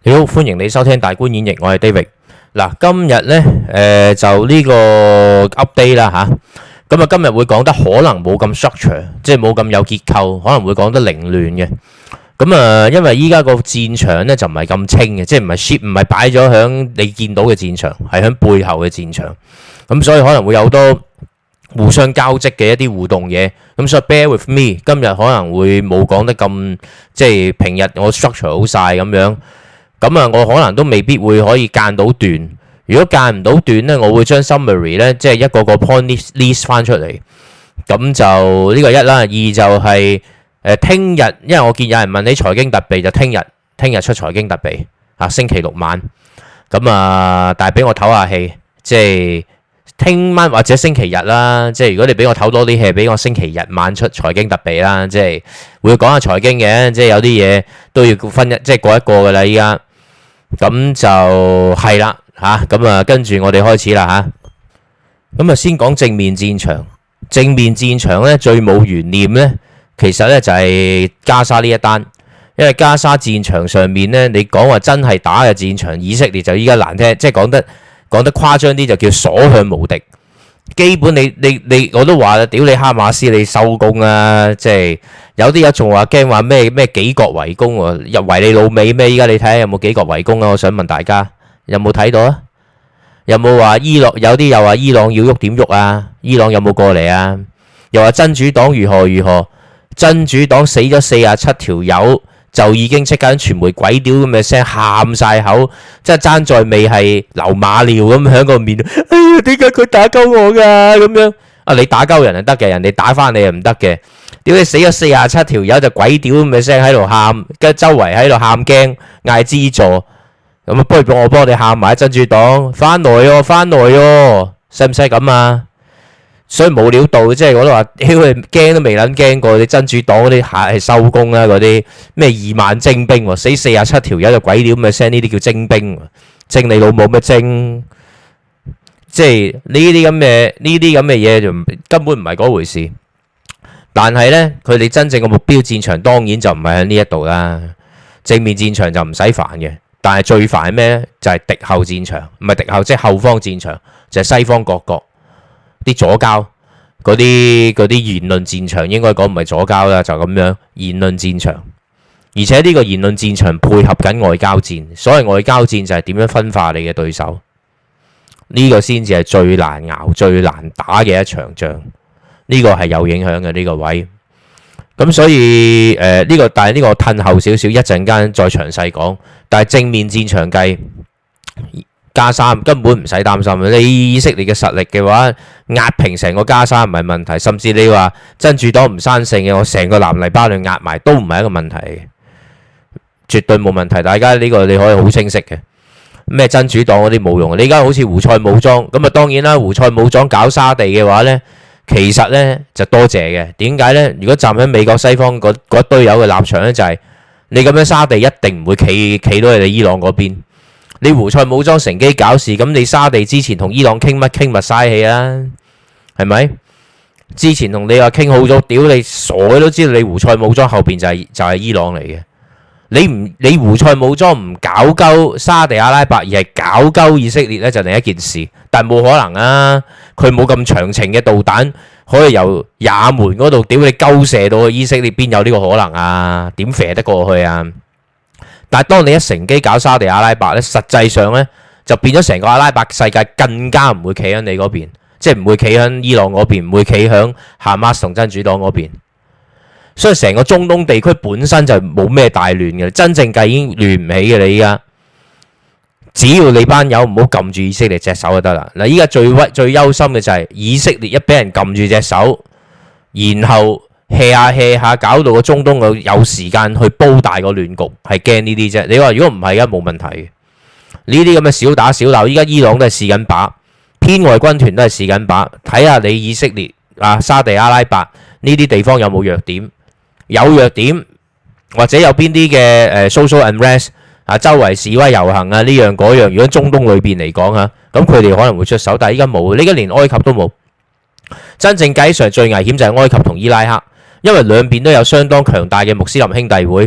你好，歡迎你收聽大觀演繹，我係 David。嗱，今日呢，就呢個 update 啦吓，咁啊今日會講得可能冇咁 structure，即係冇咁有結構，可能會講得凌亂嘅。咁啊，因為依家個戰場呢就唔係咁清嘅，即係唔係擺咗響你見到嘅戰場，係響背後嘅戰場。咁所以可能會有好多互相交織嘅一啲互動嘢。咁所以 bear with me，今日可能會冇講得咁，即係平日我 structure 好晒咁樣。咁啊，我可能都未必會可以間到段。如果間唔到段呢，我會將 summary 呢，即係一個個 point list 翻出嚟。咁就呢個一啦，二就係聽日，因為我見有人問你財經特備，就聽日出財經特備啊，星期六晚。咁啊，但係俾我唞下氣，即係聽晚或者星期日啦。即係如果你俾我唞多啲氣，俾我星期日晚出財經特備啦。即係會講下財經嘅，即係有啲嘢都要分即係過一個噶啦，依家。咁就係啦嚇，咁啊跟住我哋開始啦嚇。咁啊先講正面戰場，正面戰場咧最冇懸念咧，其實咧就係加沙呢一單，因為加沙戰場上面咧，你講話真係打嘅戰場，以色列就依家難聽，即係講得誇張啲就叫所向無敵。基本你我都話啦，屌你哈馬斯你收工啦，即係有啲人仲話驚話咩幾國圍攻喎，入圍你老味咩？依家你睇下有冇幾國圍攻啊？我想問大家有冇睇到啊？有冇話伊朗有啲又話伊朗要喐點喐啊？伊朗有冇過嚟啊？又話真主黨如何？真主黨死咗47條友。就已經即刻傳媒鬼屌咁嘅聲，喊晒口，即係爭在未係流馬尿咁喺個面。哎呀，點解佢打鳩我㗎咁樣？啊，你打鳩人係得嘅，人哋打翻你係唔得嘅。屌你死咗47條友就鬼屌咁嘅聲喺度喊，跟住周圍喺度喊驚，嗌資助。咁啊，不如我幫你喊埋真主黨翻來喎，使唔使咁啊？所以冇料到，即係我都話，屌你驚都未撚驚過，你真主黨嗰啲係收工啦，嗰啲咩2萬精兵，死47條友就鬼屌咁嘅聲，呢啲叫精兵，精你老母咩精？即係呢啲咁嘅嘢就根本唔係嗰回事。但係呢，佢哋真正嘅目標戰場當然就唔係喺呢一度啦。正面戰場就唔使煩嘅，但係最煩係咩呢？就係敵後戰場，唔係敵後，即係後方戰場，就係西方各國。啲左膠嗰啲言論戰場應該講唔係左膠啦，就咁樣言論戰場，而且呢個言論戰場配合緊外交戰，所謂外交戰就係點樣分化你嘅對手，呢個先至係最難熬、最難打嘅一場仗，呢個係有影響嘅呢個位。咁所以但係呢個褪後少少，一陣間再詳細講。但係正面戰場計。加沙根本唔使擔心，你以色列嘅實力嘅話，壓平成個加沙唔係問題，甚至你話真主黨唔生性嘅，我成個南黎巴嫩壓埋都唔係一個問題，絕對冇問題。大家呢個你可以好清晰嘅，咩真主黨嗰啲冇用，你而家好似胡塞武裝咁啊，當然啦，胡塞武裝搞沙地嘅話呢，其實呢就多謝嘅。點解呢？如果站喺美國西方嗰堆友嘅立場呢，就係你咁樣沙地一定唔會企到你哋伊朗嗰邊。你胡塞武裝乘機搞事，咁你沙地之前同伊朗傾乜嘥氣啦，係咪？之前同你話傾好咗，屌你傻嘅都知道你胡塞武裝後邊就係伊朗嚟嘅。你胡塞武裝唔搞鳩沙地阿拉伯，而係搞鳩以色列咧，就另一件事。但係冇可能啊，佢冇咁長程嘅導彈可以由也門嗰度屌你鳩射到去以色列，邊有呢個可能啊？點射得過去啊？但係當你一乘機搞沙地阿拉伯咧，實際上咧就變咗成個阿拉伯世界更加唔會企喺你嗰邊，即係唔會企喺伊朗嗰邊，唔會企喺哈馬斯同真主黨嗰邊。所以成個中東地區本身就冇咩大亂嘅，真正計已經亂唔起嘅。你依家只要你班友唔好撳住以色列隻手就得啦。嗱，依家最憂心嘅就係以色列一俾人撳住隻手，然後hea 下搞到個中東有時間去煲大個亂局，係驚呢啲啫。你話如果唔係，而家冇問題嘅。呢啲咁嘅小打小鬧，依家伊朗都係試緊把，偏外軍團都係試緊把，睇下你以色列啊、沙地阿拉伯呢啲地方有冇弱點，有弱點或者有邊啲嘅social unrest 啊，周圍示威遊行啊呢樣嗰樣。如果中東裏邊嚟講嚇，咁佢哋可能會出手，但係依家冇，呢家連埃及都冇。真正計上最危險就係埃及同伊拉克。因為兩邊都有相當強大嘅穆斯林兄弟會，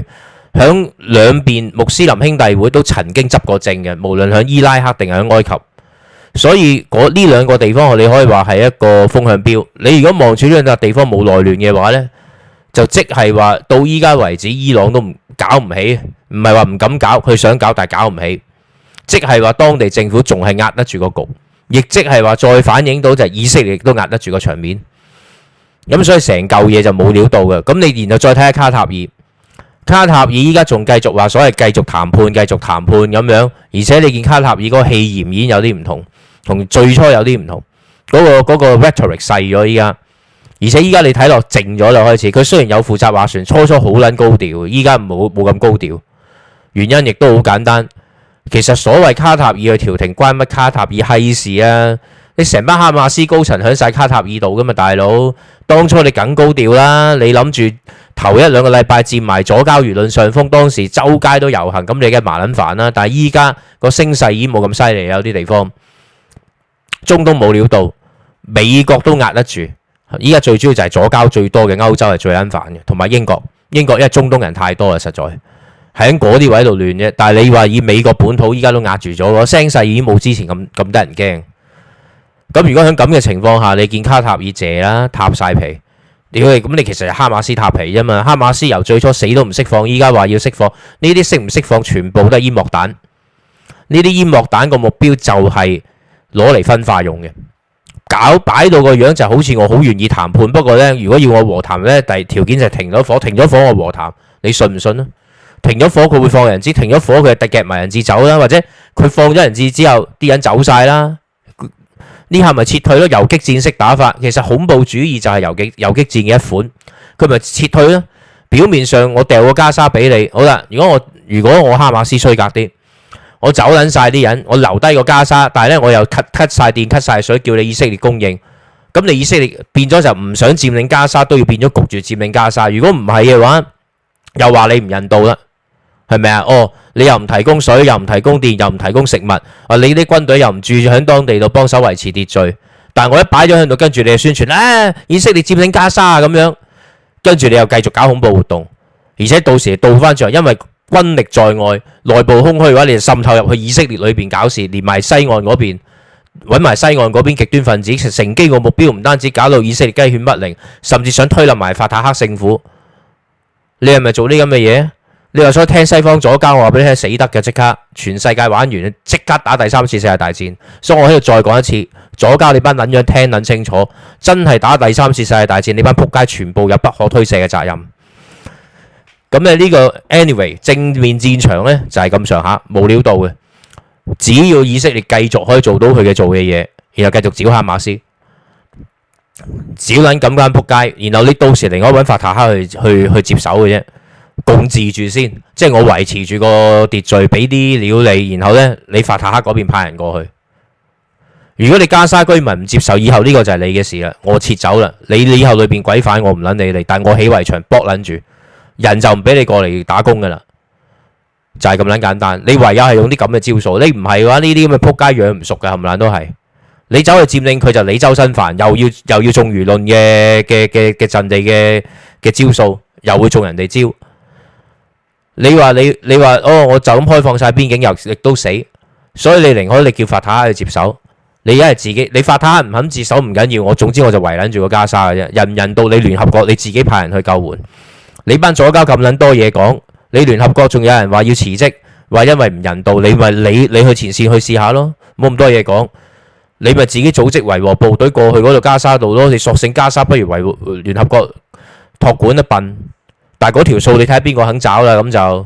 響兩邊穆斯林兄弟會都曾經執過政嘅，無論響伊拉克定係響埃及。所以呢兩個地方你可以話係一個風向標。你如果望住呢兩笪地方冇內亂嘅話呢，就即係話到依家為止，伊朗都搞唔起，唔係話唔敢搞，佢想搞但係搞唔起。即係話當地政府仲係壓得住個局，亦即係話再反映到就係以色列都壓得住個場面。咁所以成嚿嘢就冇料到嘅。咁你然後再睇下卡塔爾，卡塔爾依家仲繼續話所謂繼續談判咁樣，而且你見卡塔爾嗰個氣焰已經有啲唔同。同最初有啲唔同，嗰個 rhetoric 細咗依家，而且依家你睇落靜咗啦開始。佢雖然有負責斡旋，初好撚高調，依家冇咁高調。原因亦都好簡單，其實所謂卡塔爾去調停關乜卡塔爾閪事啊？你成班哈馬斯高層響晒卡塔爾度噶嘛，大佬。當初你梗高調啦，你諗住頭一兩個禮拜佔埋左膠輿論上風，當時周街都遊行，咁你梗係麻撚煩啦。但係依家個聲勢已經冇咁犀利，有啲地方。中東冇料到，美國都壓得住。依家最主要就係左膠最多嘅歐洲係最撚煩嘅，同埋英國。英國因為中東人太多啦，實在喺嗰啲位度亂啫。但係你話以美國本土依家都壓住咗，個聲勢已經冇之前咁得人驚。咁如果喺咁嘅情況下，你見卡塔爾謝啦，塌晒皮。咁你其實係哈馬斯塌皮啫嘛。哈馬斯由最初死都唔釋放，依家話要釋放，呢啲釋唔釋放全部都係煙幕彈。呢啲煙幕彈個目標就係攞嚟分化用嘅，擺到個樣就好似我好願意談判，不過呢，如果要我和談呢，第條件就係停咗火我和談，你信唔信啊？停咗火佢會放人質，停咗火佢係夾埋人質走啦，或者佢放咗人質之後啲人走晒啦，呢下咪撤退咯，游擊戰式打法，其實恐怖主義就係游擊戰嘅一款，佢咪撤退咯。表面上我掉個加沙俾你，好啦，如果我哈馬斯衰格啲。我走撚晒啲人，我留低個加沙，但係咧我又 cut 晒電 cut 晒水，叫你以色列供應。咁你以色列變咗就唔想佔領加沙，都要變咗焗住佔領加沙。如果唔係嘅話，又話你唔人道啦，係咪啊？哦，你又唔提供水，又唔提供電，又唔提供食物，你啲軍隊又唔住喺當地度幫手維持秩序。但係我一擺咗喺度，跟住你就宣傳以色列佔領加沙咁樣，跟住你又繼續搞恐怖活動，而且到時倒翻轉，因為軍力在外，內部空虛嘅話，你就滲透入去以色列裏邊搞事，連埋西岸嗰邊揾埋西岸嗰邊極端分子，乘機個目標唔單止搞到以色列雞犬不寧，甚至想推冧埋法塔赫政府。你係咪做呢咁嘅嘢？你話想聽西方左膠，我話俾你聽，死得嘅，即刻全世界玩完，即刻打第三次世界大戰。所以我喺度再講一次，左膠你班撚樣聽撚清楚，真係打第三次世界大戰，你班撲街全部有不可推卸嘅責任。咁咧呢個 anyway 正面戰場咧就係咁上下冇料到嘅，只要以色列繼續可以做到佢嘅做嘅嘢，然後繼續剿哈馬斯，剿撚咁間撲街，然後你到時另外揾法塔赫去接手嘅啫，共治住先，即係我維持住個秩序，俾啲料你，然後咧你法塔赫嗰邊派人過去。如果你加沙居民唔接受，以後呢個就係你嘅事啦，我撤走啦，你以後裏邊鬼反我唔撚理你，但我起圍牆搏撚住。人就唔俾你過嚟打工噶啦，就係咁撚簡單。你唯有係用啲咁嘅招數，你唔係嘅話，呢啲咁嘅撲街養唔熟嘅，冚唪唥都係。你走去佔領佢就你周身煩，又要中輿論嘅陣地嘅招數，又會中人哋招。你話哦，我就咁開放晒邊境，又亦都死。所以你寧可你叫法塔赫去接手，你一係自己，你法塔赫唔肯接手唔緊要，總之我就圍撚住個加沙嘅啫。人唔人道，你聯合國你自己派人去救援。你班左膠咁撚多嘢講，你聯合國仲有人話要辭職，話因為唔人道，你咪你去前線去試下咯，冇咁多嘢講，你咪自己組織維和部隊過去嗰度加沙度咯，你索性加沙不如維聯合國託管一笨，但係嗰條數你睇下邊個肯找啦，咁就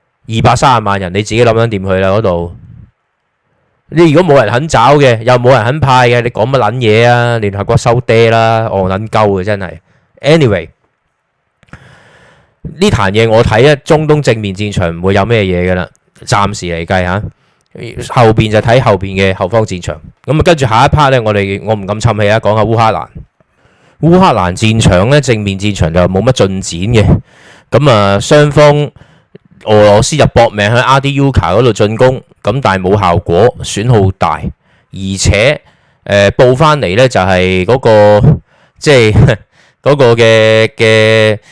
230萬人，你自己諗諗掂佢啦嗰度。你如果冇人肯找嘅，又冇人肯派嘅，你講乜撚嘢啊？聯合國收爹啦，戇撚鳩嘅真係。Anyway。呢壇嘢我睇中東正面戰場唔會有咩嘢噶啦，暫時嚟計嚇，後邊就睇後邊嘅後方戰場。咁啊，跟住下一 part 咧，我唔敢侵氣啊，講下烏克蘭。烏克蘭戰場咧，正面戰場就冇乜進展嘅。咁啊，雙方俄羅斯就搏命喺阿迪烏卡嗰度進攻，咁但係冇效果，損耗大，而且報翻嚟咧就係嗰個即係嗰個嘅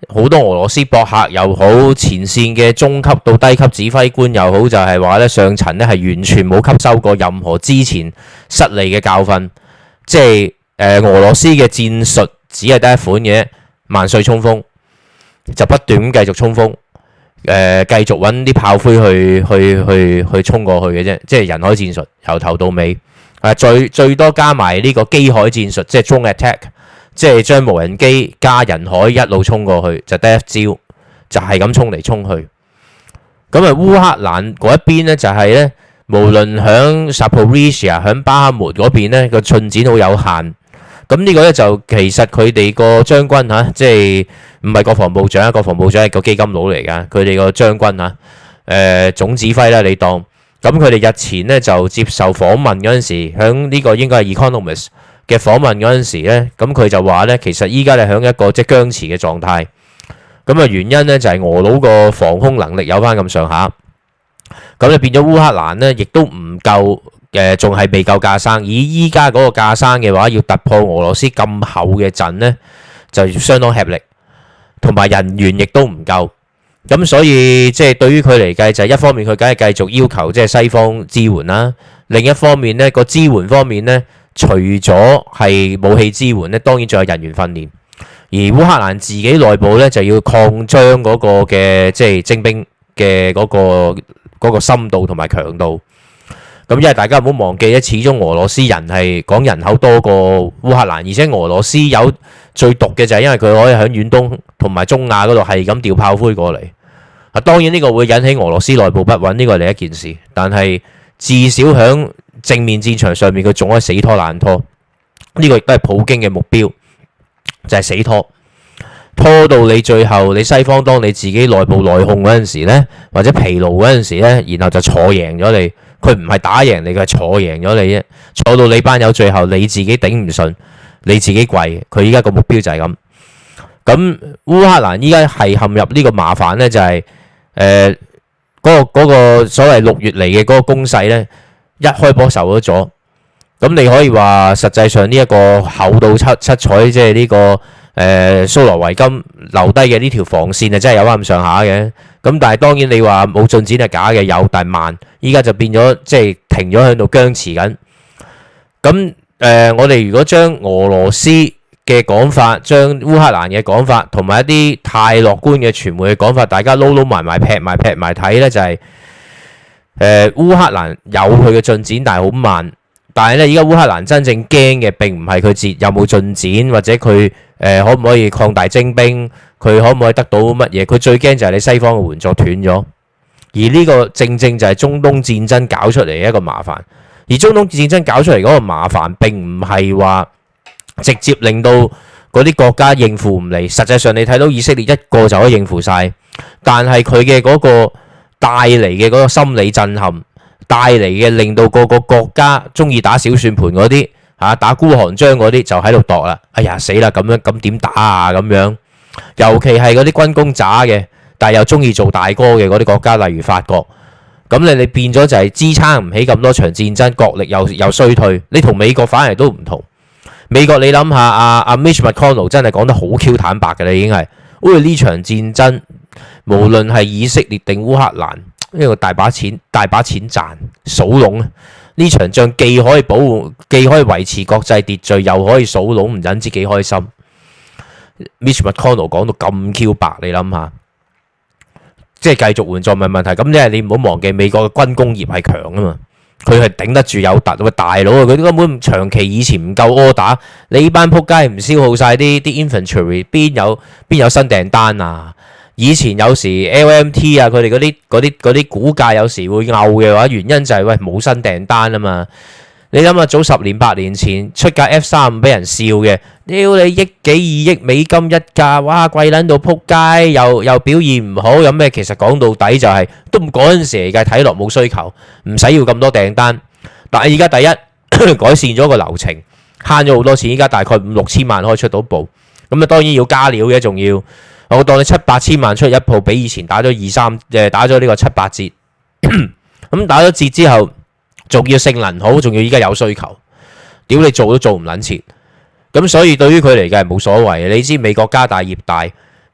好多俄羅斯博客又好，前線嘅中級到低級指揮官又好，就係話咧上層咧係完全冇吸收過任何之前失利嘅教訓，即係俄羅斯嘅戰術只係得一款嘅，萬歲衝鋒，就不斷咁繼續衝鋒，繼續揾啲炮灰去衝過去嘅啫，即係人海戰術由頭到尾，最多加埋呢個機海戰術，即係 drone attack。即係將無人機加人海一路衝過去，就得一招，就係咁衝嚟衝去。咁啊，烏克蘭嗰一邊咧就係咧，無論響 Zaporizhzhia 響巴赫穆嗰邊咧個進展好有限。咁呢個咧就其實佢哋個將軍嚇，即係唔係國防部長，國防部長係個基金佬嚟㗎。佢哋個將軍嚇，總指揮啦，你當。咁佢哋日前咧就接受訪問嗰陣時，響呢個應該係 Economist嘅訪問嗰陣時咧，咁佢就話咧，其實依家咧喺一個即係僵持嘅狀態。咁啊原因咧就係俄佬個防空能力有翻咁上下，咁就變咗烏克蘭咧，亦都唔夠仲係未夠架生。以依家嗰個架生嘅話，要突破俄羅斯咁厚嘅陣咧，就相當吃力，同埋人員亦都唔夠。咁所以即係對於佢嚟計，就係一方面佢梗係繼續要求即係西方支援啦，另一方面咧個支援方面咧，除咗係武器支援咧，當然仲有人員訓練。而烏克蘭自己內部咧就要擴張嗰個嘅即係徵兵嘅嗰個深度同埋強度。咁因為大家唔好忘記咧，始終俄羅斯人係講人口多過烏克蘭，而且俄羅斯有最毒嘅就係因為佢可以喺遠東同埋中亞嗰度係咁調炮灰過嚟。啊，當然呢個會引起俄羅斯內部不穩，呢個係另一件事。但係至少喺正面戰場上面，佢仲可以死拖爛拖。呢個亦都係普京嘅目標，就係死拖，拖到你最後，你西方當你自己內部內訌嗰陣時咧，或者疲勞嗰陣時咧，然後就坐贏咗你。佢唔係打贏你，佢係坐贏咗你啫。坐到你班友最後，你自己頂唔順，你自己跪。佢依家個目標就係咁。咁烏克蘭依家係陷入呢個麻煩咧，就係嗰個所謂6月嚟嘅嗰個攻勢咧，一開波受咗阻。咁你可以話實際上呢一個厚到七彩，即係呢個蘇羅維金留低嘅呢條防線啊，真係有翻咁上下嘅。咁但係當然你話冇進展係假嘅，有但係慢。依家就變咗即係停咗喺度僵持緊。咁我哋如果將俄羅斯嘅講法，將烏克蘭嘅講法，同埋一啲太樂觀嘅傳媒嘅講法，大家撈埋劈埋睇咧，就係烏克蘭有佢嘅進展，但係好慢。但係咧，而家烏克蘭真正驚嘅並唔係佢有冇進展，或者佢可唔可以擴大徵兵，佢可唔可以得到乜嘢？佢最驚就係你西方嘅援助斷咗。而呢個正正就係中東戰爭搞出嚟嘅一個麻煩。而中東戰爭搞出嚟嗰個麻煩並唔係話直接令到嗰啲國家應付唔嚟。實際上你睇到以色列一個就可以應付晒，但係佢嘅嗰個帶嚟嘅嗰個心理震撼，帶嚟嘅令到個個國家中意打小算盤嗰啲打孤寒章嗰啲就喺度度啦。哎呀死啦，咁樣咁點打啊咁樣？尤其係嗰啲軍功渣嘅，但係又中意做大哥嘅嗰啲國家，例如法國，咁你變咗就係支撐唔起咁多場戰爭，國力又衰退。你同美國反而都唔同。美國你諗下，阿 Mitch McConnell 真係講得好 Q 坦白嘅啦，已經係，呢場戰爭無論係以色列定烏克蘭，呢個大把錢賺，數籠啊！呢場仗既可以保護，既可以維持國際秩序，又可以數籠，唔忍知幾開心。Mitch McConnell 講到咁 Q 白，你諗下，即係繼續援助唔係問題。咁即係你唔好忘記美國嘅軍工業係強啊嘛，佢係頂得住有突。喂大佬啊，佢根本長期以前唔夠order，你呢班撲街唔消耗晒啲 infantry， 邊有新訂單啊？以前有時 LMT 啊，佢哋嗰啲股價有時會拗嘅話，原因就係喂冇新訂單啊嘛。你諗下早10年8年前出架 F-35俾人笑嘅，屌你億幾2億美金一架，哇貴撚到撲街，又表現唔好，有咩？其實講到底就係都唔嗰陣時嚟計，睇落冇需求，唔使要咁多訂單。但係而家第一改善咗個流程，慳咗好多錢，依家大概5-6千萬可以出到部，咁啊當然要加料嘅，仲要。我當你7-8千萬出一鋪，比以前打咗打咗呢個7-8折，咁打咗折之後，仲要性能好，仲要依家有需求，屌你做都做唔撚切，咁所以對於佢嚟嘅係冇所謂。你知美國家大業大，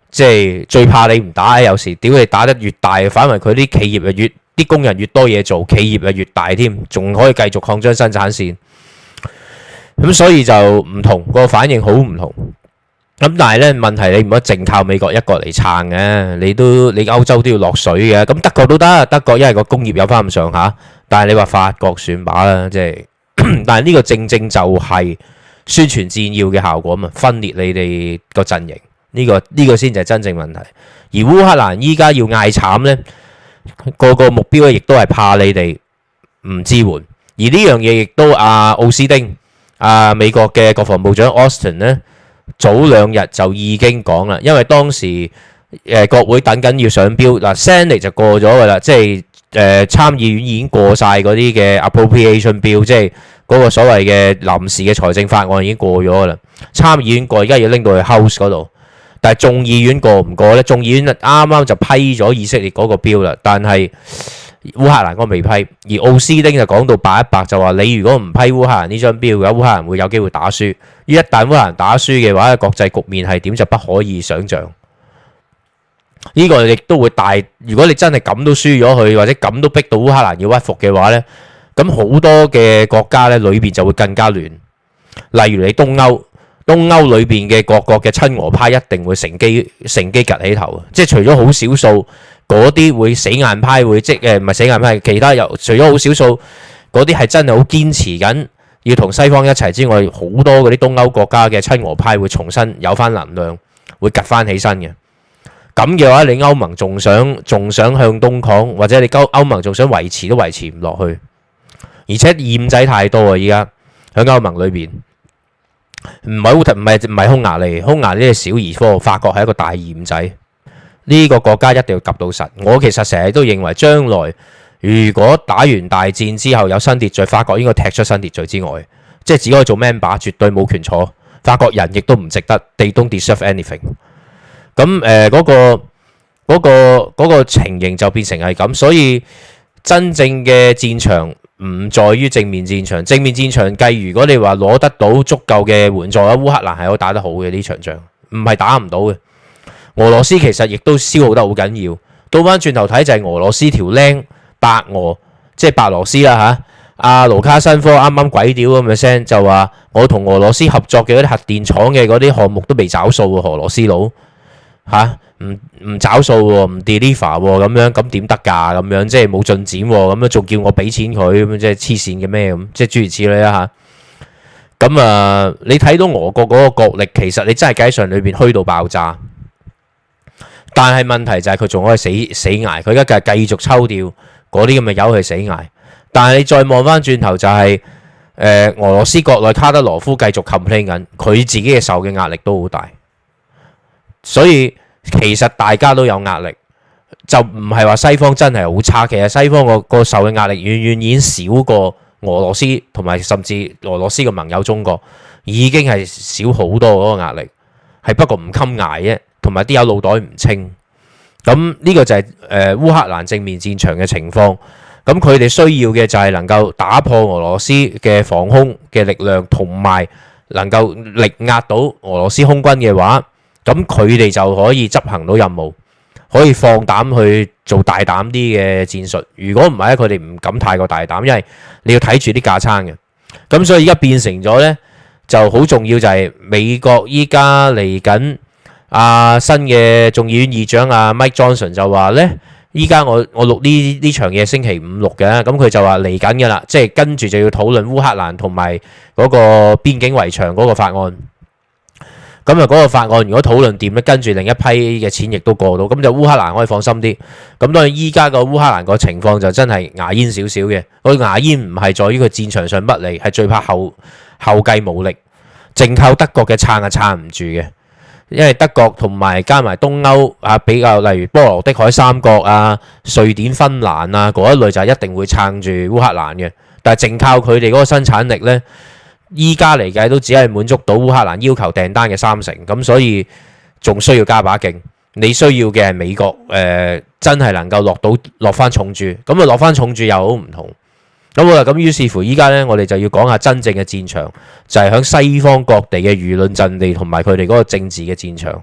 即係最怕你唔打，有時屌你打得越大，反為佢啲企業啊啲工人越多嘢做，企業啊越大添，仲可以繼續擴張生產線。咁所以就唔同個反應好唔同。咁但係咧問題你唔可以淨靠美國一個嚟撐嘅，你歐洲都要落水嘅。咁德國都得，德國因為個工業有翻咁上下，但係你話法國算把啦，即係。但係呢個正正就係宣傳戰要嘅效果嘛，分裂你哋個陣營，呢個先就係真正問題。而烏克蘭依家要嗌慘咧，個目標咧亦都係怕你哋唔支援。而呢樣嘢亦都奧斯汀美國嘅國防部長 Austin 咧。早2日就已經講啦，因為當時國會等緊要上標嗱 Senate 就過咗噶啦，即係參議院已經過晒嗰啲嘅 appropriation bill，即係嗰個所謂嘅臨時嘅財政法案已經過咗噶啦。參議院過，而家要拎到去 House 嗰度，但係眾議院過唔過呢？眾議院啱啱就批咗以色列嗰個標啦，但係烏克蘭嗰個未批。而奧斯汀就講到白一白，就話你如果唔批烏克蘭呢張標嘅話，烏克蘭會有機會打輸。一旦烏克蘭打輸嘅話，國際局面係點就不可以想像。呢個亦都會大。如果你真係咁都輸咗佢，或者咁都逼到烏克蘭要屈服嘅話呢，咁好多嘅國家呢裏邊就會更加亂。例如你東歐裏邊嘅各國嘅親俄派一定會乘機趌起頭，即係除咗好少數嗰啲會死硬派會唔係死硬派，其他又除咗好少數嗰啲係真係好堅持緊要同西方一齊之外，好多嗰啲東歐國家嘅親俄派會重新有翻能量，會趌翻起身嘅。咁嘅話，你歐盟仲想向東抗，或者你歐盟仲想維持都維持唔落去，而且厭仔太多啊！依家喺歐盟裏邊，唔係匈牙利呢係小兒科，法國係一個大厭仔。呢個國家一定要及到實。我其實成日都認為，將來如果打完大戰之後有新秩序，法國應該踢出新秩序之外，即係只可以做 member，絕對冇權坐。法國人亦都唔值得 ，they don't deserve anything。咁嗰個情形就變成係咁，所以真正嘅戰場唔在於正面戰場。正面戰場計，如果你話攞得到足夠嘅援助，烏克蘭係可以打得好嘅呢場仗，唔係打唔到嘅。俄羅斯其實亦都消耗得好緊要。倒翻轉頭睇就係俄羅斯條僆白俄，即係白羅斯啦嚇。阿盧卡申科啱啱鬼屌咁嘅聲就話，我同俄羅斯合作嘅嗰啲核電廠嘅嗰啲項目都未找數喎，俄羅斯佬嚇唔找數喎，唔 deliver 喎，咁樣咁點得㗎？咁樣即係冇進展喎，咁樣仲叫我俾錢佢，咁樣即係黐線嘅咩咁？即係諸如此類啦嚇。咁你睇到俄國嗰個國力，其實你真係計上裏邊虛到爆炸。但係問題就係佢仲可以死捱，佢而家繼續抽調嗰啲咁嘅友去死捱。但係你再望翻轉頭就係俄羅斯國內卡德羅夫繼續 complain 緊，佢自己嘅受嘅壓力都好大。所以其實大家都有壓力，就唔係話西方真係好差。其實西方個受嘅壓力遠遠已經少過俄羅斯，同埋甚至俄羅斯嘅盟友中國已經係少好多嗰個壓力，係不過唔襟捱啫。同埋啲有腦袋唔清，咁呢個就係烏克蘭正面戰場嘅情況。咁佢哋需要嘅就係能夠打破俄羅斯嘅防空嘅力量，同埋能夠力壓到俄羅斯空軍嘅話，咁佢哋就可以執行到任務，可以放膽去做大膽啲嘅戰術。如果唔係咧，佢哋唔敢太過大膽，因為你要睇住啲架撐嘅。咁所以而家變成咗呢，就好重要就係美國依家嚟緊。新嘅眾議院議長Mike Johnson 就話呢，依家我錄呢場嘢星期五錄嘅，咁佢就話嚟緊嘅啦，即係跟住就要討論烏克蘭同埋嗰個邊境圍牆嗰個法案。咁嗰個法案如果討論掂咧，跟住另一批嘅錢亦都過到，咁就烏克蘭可以放心啲。咁當然依家個烏克蘭個情況就真係牙煙少少嘅，個牙煙唔係在於佢戰場上不利，係最怕後繼無力，淨靠德國嘅撐係撐唔住嘅。因為德國同埋加埋東歐比較，例如波羅的海三國瑞典、芬蘭嗰一類就一定會撐住烏克蘭嘅。但係淨靠佢哋嗰個生產力呢，依家嚟計都只係滿足到烏克蘭要求訂單嘅30%，咁所以仲需要加把勁。你需要嘅係美國真係能夠落翻重注，咁落翻重注又好唔同。咁好啦，咁於是乎依家呢，我哋就要講下真正嘅戰場，就係喺西方各地嘅輿論陣地同埋佢哋嗰個政治嘅戰場。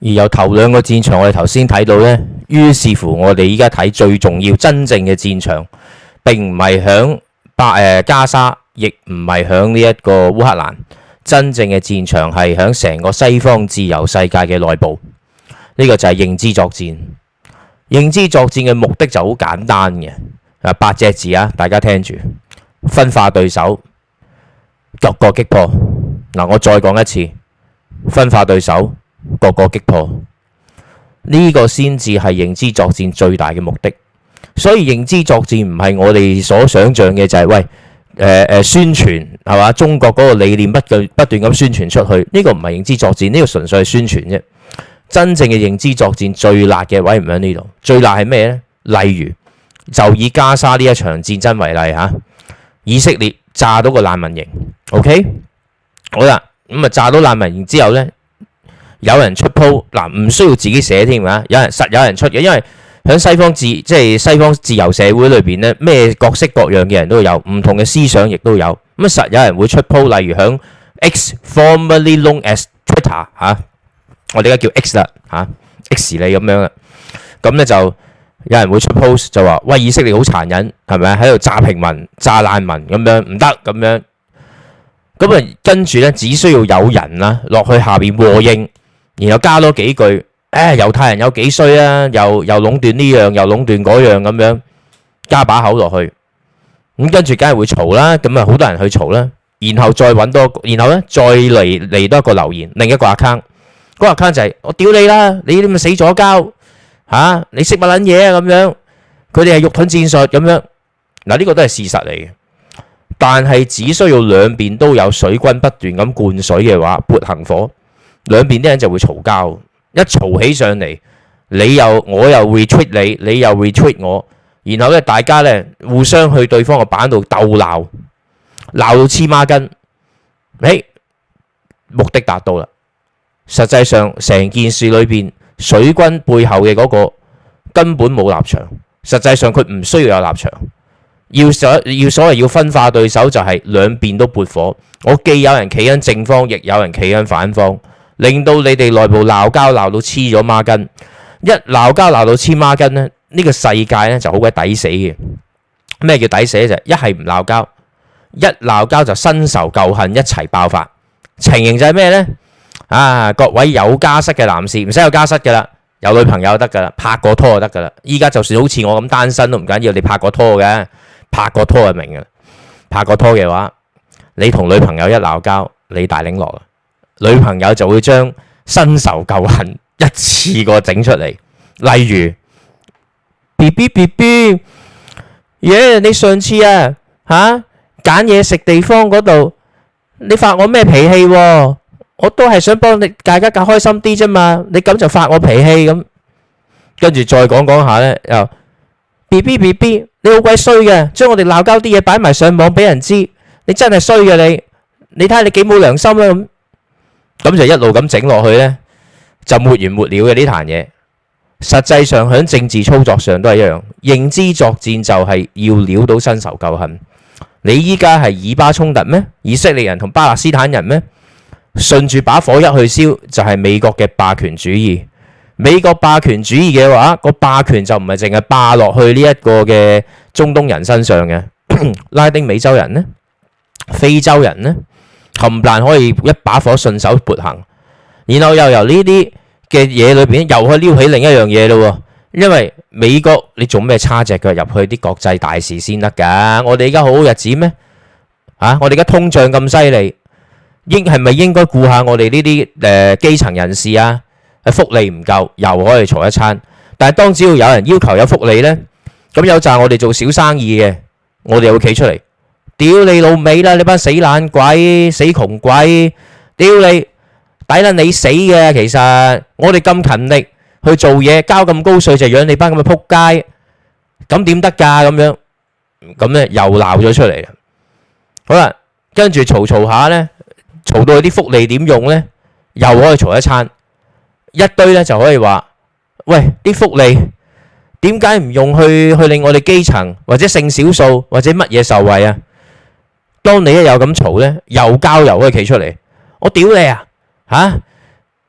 而由頭兩個戰場我哋頭先睇到呢，於是乎我哋依家睇最重要真正嘅戰場，並唔係響加沙，亦唔係響呢一個烏克蘭，真正嘅戰場係響成個西方自由世界嘅內部。呢個就係認知作戰。認知作戰嘅目的就好簡單嘅，8隻字啊，大家聽住：分化對手，各個擊破。嗱，我再講一次，分化對手，各個擊破。呢個先至係認知作戰最大嘅目的。所以認知作戰唔係我哋所想像嘅就係喂宣傳係嘛？中國嗰個理念不斷咁宣傳出去，呢個唔係認知作戰，呢個純粹係宣傳啫。真正嘅認知作戰最辣嘅位唔喺呢度，最辣係咩呢？例如就以加沙呢一場戰爭為例嚇，以色列炸到個難民營 ，OK， 好啦，咁啊炸到難民營之後呢，有人出鋪嗱，唔需要自己寫添啊，有人出嘅，因為喺西方自由社會裏邊呢，咩各式各樣嘅人都有，唔同嘅思想亦都有，咁實有人會出鋪，例如響 X formerly known as Twitter 嚇。我哋而家叫 X 啦嚇 ，X 你咁樣啦，咁咧就有人會出 post 就話：喂，以色列好殘忍，係咪喺度炸平民、炸難民咁樣唔得咁樣。咁啊，跟住咧只需要有人啦落去下邊和應，然後加多幾句，猶太人有幾衰啊，又壟斷呢樣，又壟斷嗰樣咁樣，加把口落去。咁跟住梗係會嘈啦，咁啊好多人去嘈啦，然後再揾多，然後咧再嚟多一個留言，另一個 account。嗰個 account 就係我屌你啦，你咪死左膠嚇，你識乜撚嘢啊咁樣？佢哋係肉盾戰術咁樣。嗱，呢個都係事實嚟嘅，但係只需要兩邊都有水軍不斷咁灌水嘅話，撥行火，兩邊啲人就會嘈交。一嘈起上嚟，我又 retweet 你，你又 retweet 我，然後咧大家咧互相去對方個版度鬥鬧，鬧到黐孖筋。目的達到啦。實際上成件事裏邊，水軍背後嘅嗰個根本冇立場。實際上佢唔需要有立場，所謂要分化對手，就係兩邊都撥火。我既有人企喺正方，亦有人企喺反方，令到你哋內部鬧交鬧到黐咗孖筋。一鬧交鬧到黐孖筋咧，呢個世界咧就好鬼抵死嘅。咩叫抵死咧？就一係唔鬧交，一鬧交就新仇舊恨一齊爆發。情形就係咩呢？各位有家室嘅男士唔使有家室噶啦，有女朋友得噶啦，拍過拖就得噶啦。依家就算好似我咁單身都唔緊要，你拍過拖嘅，拍過拖就明噶啦。拍過拖嘅話，你同女朋友一鬧交，你大領落啦，女朋友就會將新仇舊恨一次過整出嚟。例如 BB， 你上次揀嘢食地方嗰度，你發我咩脾氣喎？我都係想幫你大家更開心啲啫嘛，你咁就發我脾氣咁，跟住再講下呢，又 BB， 你好鬼衰嘅，將我哋鬧交啲嘢擺埋上網俾人知，你真係衰嘅你睇下你幾冇良心啦咁就一路咁整落去呢，就沒完沒了嘅呢壇嘢。實際上喺政治操作上都係一樣，認知作戰就係要撩到新仇舊恨。你依家係以巴衝突咩？以色列人同巴勒斯坦人咩？順住把火一去燒，就係美國嘅霸權主義。美國霸權主義嘅話，個霸權就唔係淨係霸落去呢一個嘅中東人身上嘅，拉丁美洲人呢，非洲人呢，冚唪唥可以一把火順手撥行。然後又由呢啲嘅嘢裏邊，又可以撩起另一樣嘢咯。因為美國你做咩叉隻腳入去啲國際大事先得㗎？我哋而家好好日子咩？我哋而家通脹咁犀利。係咪應該顧下我哋呢啲基層人士啊？福利唔夠，又可以嘈一餐。但係當只要有人要求有福利呢，咁有陣我哋做小生意嘅，我哋又會企出嚟，屌你老味啦！你班死懶鬼、死窮鬼，屌你抵撚你死嘅！其實我哋咁勤力去做嘢，交咁高稅就養你班咁嘅撲街，咁點得㗎？咁樣咁呢又鬧咗出嚟。好啦，跟住嘈下呢。嘈到佢啲福利點用呢？又可以嘈一餐，一堆呢就可以話：喂，啲福利點解唔用去令我哋基層或者性少數或者乜嘢受惠啊？當你一有咁嘈呢，又交又可以企出嚟，我屌你啊！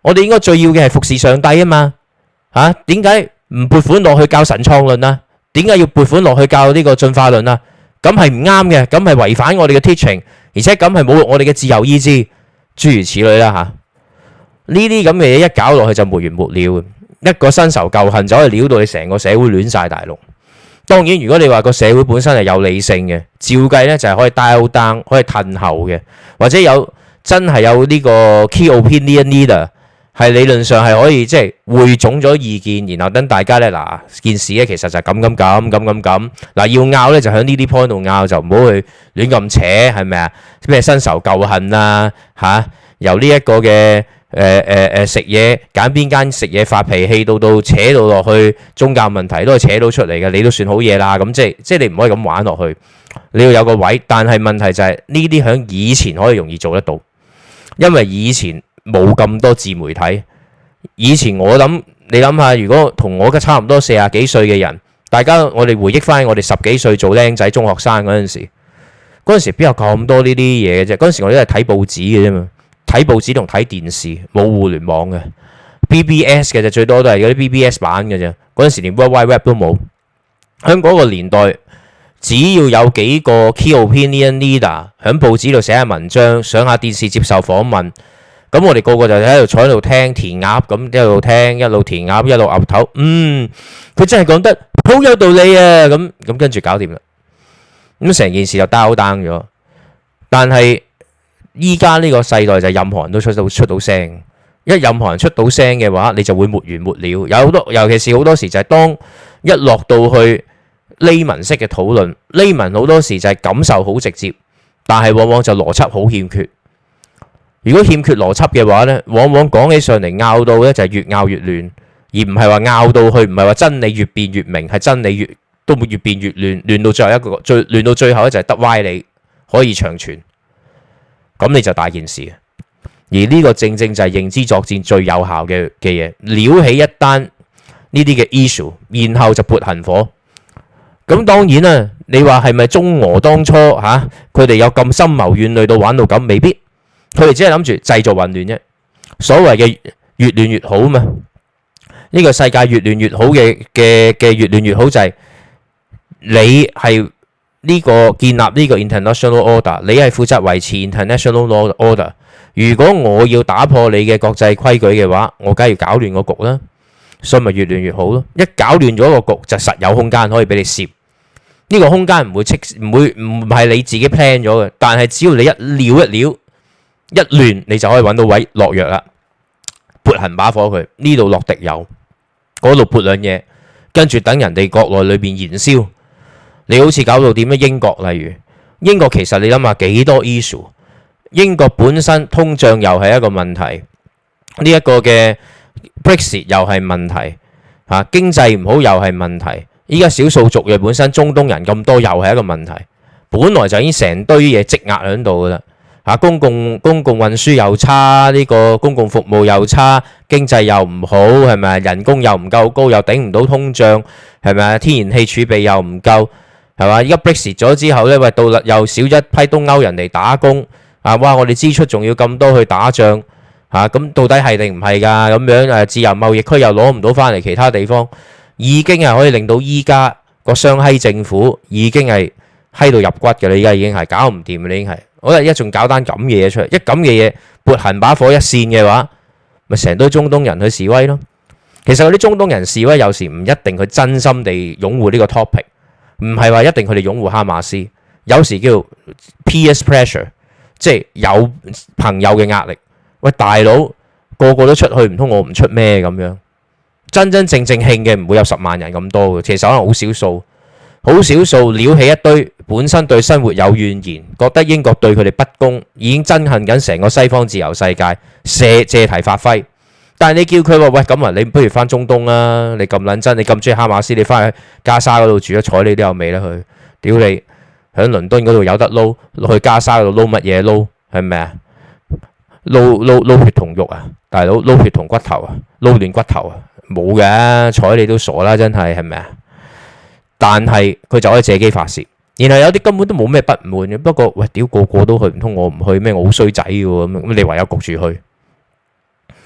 我哋應該最要嘅係服侍上帝啊嘛。嚇，點解唔撥款落去教神創論啊？點解要撥款落去教呢個進化論啊？咁係唔啱嘅，咁係違反我哋嘅 teaching， 而且咁係侮辱我哋嘅自由意志，諸如此類啦嚇。呢啲咁嘅嘢一搞落去就沒完沒了，一個新仇舊恨就可以撩到你成個社會亂晒大龍。當然，如果你話個社會本身係有理性嘅，照計呢就係可以 dial down，可以褪後嘅，或者有真係有呢個 key opinion leader，係理論上係可以即係匯總咗意見，然後等大家呢，嗱件事呢其實就係咁，嗱要拗呢就喺呢啲 point 度拗，就唔好去亂咁扯，係咪啊？咩新仇舊恨啊嚇，由呢一個嘅食嘢揀邊間食嘢發脾氣，到扯到落去宗教問題都係扯到出嚟嘅，你都算好嘢啦。咁即係你唔可以咁玩落去，你要有個位。但係問題就係呢啲喺以前可以容易做得到，因為以前冇咁多自媒體。以前我諗你諗下，如果同我嘅差唔多40幾歲嘅人，大家我哋回憶翻我哋10幾歲做僆仔中學生嗰陣時邊有咁多呢啲嘢嘅啫？嗰陣時我哋都係睇報紙嘅啫嘛。睇報紙同睇電視，冇互聯網嘅 BBS 嘅啫，最多都係嗰啲 BBS 版嘅啫。嗰陣時連 World Wide Web 都冇。喺嗰個年代，只要有幾個 key opinion leader 喺報紙度寫下文章，上下電視接受訪問，咁我哋個個就喺度坐喺度聽填鴨咁，一路聽一路填鴨一路岌頭。佢真係講得好有道理啊！咁跟住搞掂啦。咁成件事就 down 咗。但係依家呢個世代就任何人都出到聲，一任何人出到聲嘅話，你就會沒完沒了。有好多，尤其是好多時就係當一落到去layman式嘅討論，layman好多時就係感受好直接，但係往往就邏輯好欠缺。如果欠缺邏輯嘅話呢，往往講起上嚟拗到呢就係越拗越亂，而唔係話拗到去，唔係話真理越辯越明，係真理都越辯越亂，亂到最後就係得歪理可以長存。咁你就大件事，而呢個正正就係認知作戰最有效嘅嘢，撩起一單呢啲嘅 issue， 然後就撥行火。咁當然啦，你話係咪中俄當初佢哋有咁深謀遠慮到玩到咁？未必，佢哋只係諗住製造混亂啫。所謂嘅越亂越好嘛，呢個世界越亂越好嘅越亂越好就係你係。呢個建立呢個 international order， 你係負責維持 international order。如果我要打破你嘅國際規矩嘅話，我梗係要搞亂個局啦，所以咪越亂越好咯。一搞亂咗個局，就實有空間可以俾你攝。呢個空間唔係你自己 plan 咗嘅，但係只要你一撩一亂，你就可以揾到位落藥啦，撥行把火佢，呢度落滴油，嗰度撥兩嘢，跟住等人哋國內裏邊燃燒。你好似搞到點樣？英國例如英國，其實你諗下幾多 issue？ 英國本身通脹又係一個問題，呢一個嘅 Brexit 又係問題，經濟唔好又係問題。依家少數族裔本身中東人咁多又係一個問題。本來就已經成堆嘢積壓喺度噶啦，公共運輸又差，呢個公共服務又差，經濟又唔好，係咪？人工又唔夠高，又頂唔到通脹，係咪？天然氣儲備又唔夠。係嘛？而家 Brexit 咗之後咧，喂，到又少咗一批東歐人嚟打工啊！哇，我哋支出仲要咁多去打仗嚇，咁到底係定唔係㗎？咁樣自由貿易區又攞唔到翻嚟其他地方，已經係可以令到依家個雙閪政府已經係閪到入骨㗎啦！依家已經係搞唔掂啦，已經係。好啦，一仲搞單咁嘅嘢出嚟，一咁嘅嘢撥行把火一線嘅話，咪成堆中東人去示威咯。其實嗰啲中東人示威有時唔一定佢真心地擁護呢個 topic。唔係話一定佢哋擁護哈馬斯，有時叫 peer pressure， 即係有朋友嘅壓力。喂，大佬個個都出去，唔通我唔出咩咁樣？真真正正興嘅唔會有10萬人咁多嘅，其實可能好少數撩起一堆本身對生活有怨言，覺得英國對佢哋不公，已經憎恨緊成個西方自由世界，借題發揮。但係你叫佢話喂，咁啊，你不如翻中東啦！你咁撚真，你咁中意哈馬斯，你翻去加沙嗰度住咗，睬你都有味啦佢。屌你，喺倫敦嗰度有得撈，落去加沙嗰度撈乜嘢撈？係咪啊？撈血同肉啊，大佬撈血同骨頭啊，撈亂骨頭啊，冇嘅，睬你都傻啦，真係係咪啊？但係佢就可以借機發泄，然後有啲根本都冇咩不滿嘅。不過喂，屌個個都去，唔通我唔去咩？我好衰仔嘅喎，咁你唯有焗住去。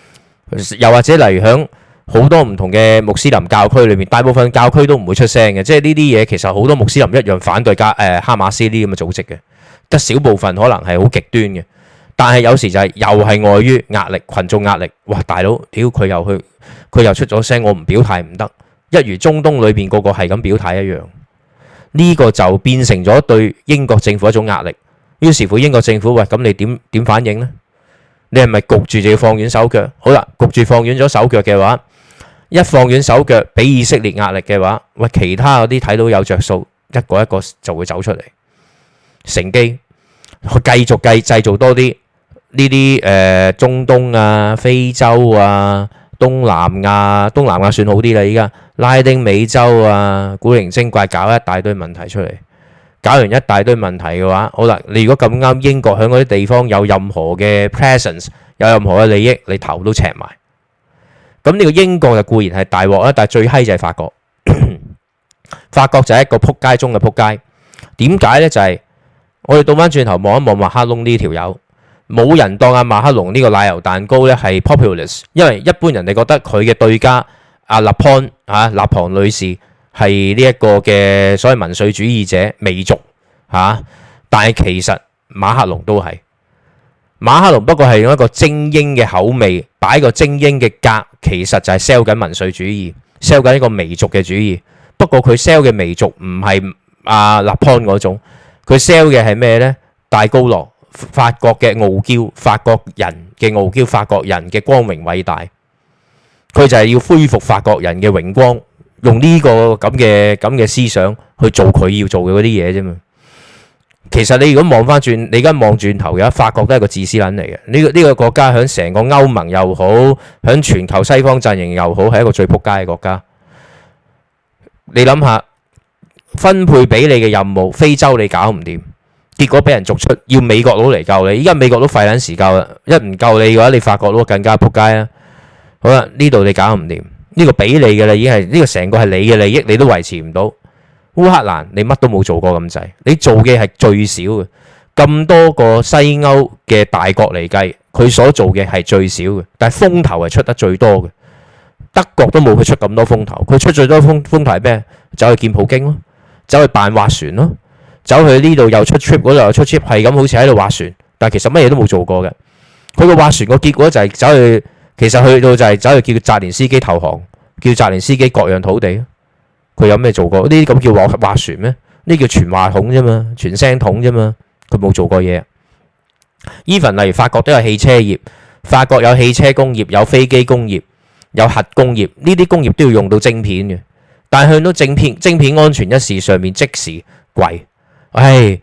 又或者例如響好多唔同嘅穆斯林教區裏面，大部分教區都唔會出聲嘅，即係呢啲嘢其實好多穆斯林一樣反對哈馬斯呢啲咁嘅組織嘅，得少部分可能係好極端嘅，但係有時就係又係礙於壓力、群眾壓力，哇大佬，屌佢又出咗聲，我唔表態唔得，一如中東裏邊個個係咁表態一樣，呢個就變成咗對英國政府一種壓力。於是乎英國政府喂，咁你點反應呢？你係咪焗住就要放軟手腳？好啦，焗住放軟咗手腳嘅話，一放軟手腳俾以色列壓力嘅話，喂，其他嗰啲睇到有着數，一個一個就會走出嚟，乘機去繼續製造多啲呢啲中東啊、非洲啊、東南亞算好啲啦，依家拉丁美洲啊，古靈精怪搞一大堆問題出嚟。搞完一大堆問題嘅話，好啦，你如果咁啱英國喺嗰啲地方有任何嘅 presence， 有任何嘅利益，你頭都赤埋。咁呢個英國就固然係大鑊啦，但係最閪就係法國。法國就係一個撲街中嘅撲街。點解呢？就係我哋倒翻轉頭望一望馬克龍呢條友，冇人當阿馬克龍呢個奶油蛋糕呢係 populist， 因為一般人哋覺得佢嘅對家阿勒龐立龐女士係呢一個嘅所謂民粹主義者媚族嚇，但係其實馬克龍都係馬克龍，不過係用一個精英嘅口味擺個精英嘅格，其實就係 sell 緊民粹主義，sell 緊一個媚族嘅主義。不過佢 sell 嘅媚族唔係阿勒龐嗰種，佢 sell 嘅係咩呢？戴高樂，法國嘅傲嬌，法國人嘅傲嬌，法國人嘅光榮偉大。佢就係要恢復法國人嘅榮光。用呢個咁嘅思想去做佢要做嘅嗰啲嘢啫嘛。其實你如果望翻轉，你而家望轉頭嘅法國都係個自私撚嚟嘅。呢個國家響成個歐盟又好，響全球西方陣營又好，係一個最撲街嘅國家。你諗下，分配俾你嘅任務，非洲你搞唔掂，結果俾人逐出，要美國佬嚟救你。依家美國佬費撚時救啦，一唔救你嘅話，你法國佬更加撲街啦。好啦，呢度你搞唔掂。呢個俾你嘅啦，已經係呢個成個係你嘅利益，你都維持唔到。烏克蘭你乜都冇做過咁滯，你做嘅係最少嘅。咁多個西歐嘅大國嚟計，佢所做嘅係最少嘅，但係風頭係出得最多嘅。德國都冇佢出咁多風頭，佢出最多風頭係咩？走去見普京咯，走去扮划船咯，走去呢度又出 trip， 嗰度又出 trip， 係咁好似喺度划船，但係其實乜嘢都冇做過嘅。佢個划船個結果就係走去。其實去到就係走去叫澤連斯基投降，叫澤連斯基割讓土地。佢有咩做過？呢啲咁叫划船咩？呢叫傳話筒啫嘛，傳聲筒啫嘛。佢冇做過嘢。even 例如法國都有汽車業，法國有汽車工業，有飛機工業，有核工業，呢啲工業都要用到晶片嘅。但係向到晶片安全一事上面即時貴。唉，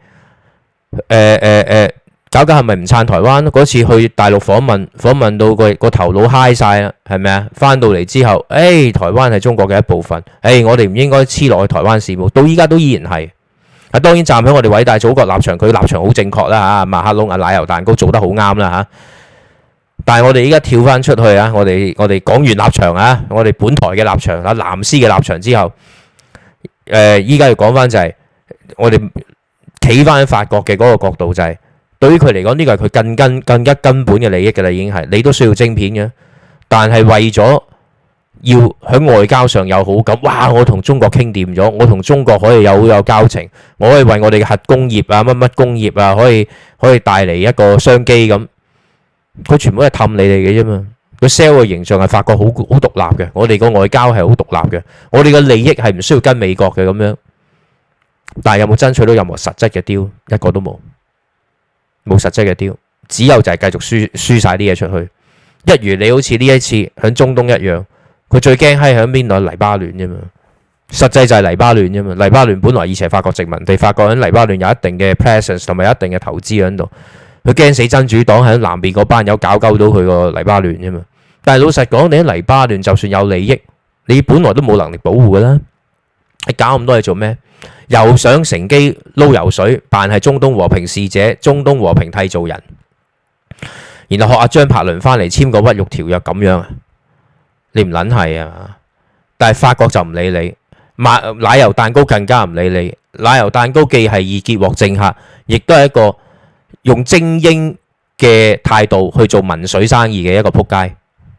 搞係咪唔撐台灣？嗰次去大陸訪問到個頭腦嗨晒啦，係咪啊？翻到嚟之後，台灣係中國嘅一部分，我哋唔應該黐落去台灣事務。到依家都依然係。當然站喺我哋偉大祖國立場，佢立場好正確啦嚇。馬克龍奶油蛋糕做得好啱啦嚇。但係我哋依家跳翻出去啊！我哋講完立場啊，我哋本台嘅立場啊，藍絲嘅立場之後，依家要講翻就係我哋企翻喺法國嘅嗰個角度就係。對於佢嚟講，呢個係佢更加根本嘅利益㗎啦，已經係你都需要晶片嘅，但係為咗要喺外交上有好感，哇！我同中國傾掂咗，我同中國可以好有交情，我可以為我哋嘅核工業啊、乜工業啊，可以帶嚟一個商機咁。佢全部都係氹你哋嘅啫嘛。佢 sell 嘅形象係法國好獨立嘅，我哋個外交係好獨立嘅，我哋嘅利益係唔需要跟美國嘅咁樣。但係有冇爭取到任何實質嘅 deal？一個都冇。冇實質嘅 deal，只有就係繼續輸晒啲嘢出去。一如你好似呢一次喺中東一樣，佢最驚係喺邊度？黎巴嫩啫嘛，實際就係黎巴嫩啫嘛。黎巴嫩本來以前係法國殖民地，法國喺黎巴嫩有一定嘅 presence 同埋有一定嘅投資喺度。佢驚死真主黨喺南邊嗰班友搞鳩到佢個黎巴嫩啫嘛。但係老實講，你喺黎巴嫩就算有利益，你本來都冇能力保護㗎啦。你搞咁多嘢做咩？又想乘機撈油水，扮係中東和平使者、中東和平締造人，然後學阿張柏倫翻嚟簽個屈辱條約咁樣啊？你唔撚係啊？但係法國就唔理你，奶油蛋糕更加唔理你。奶油蛋糕既係易結獲政客，亦都係一個用精英嘅態度去做民粹生意嘅一個撲街。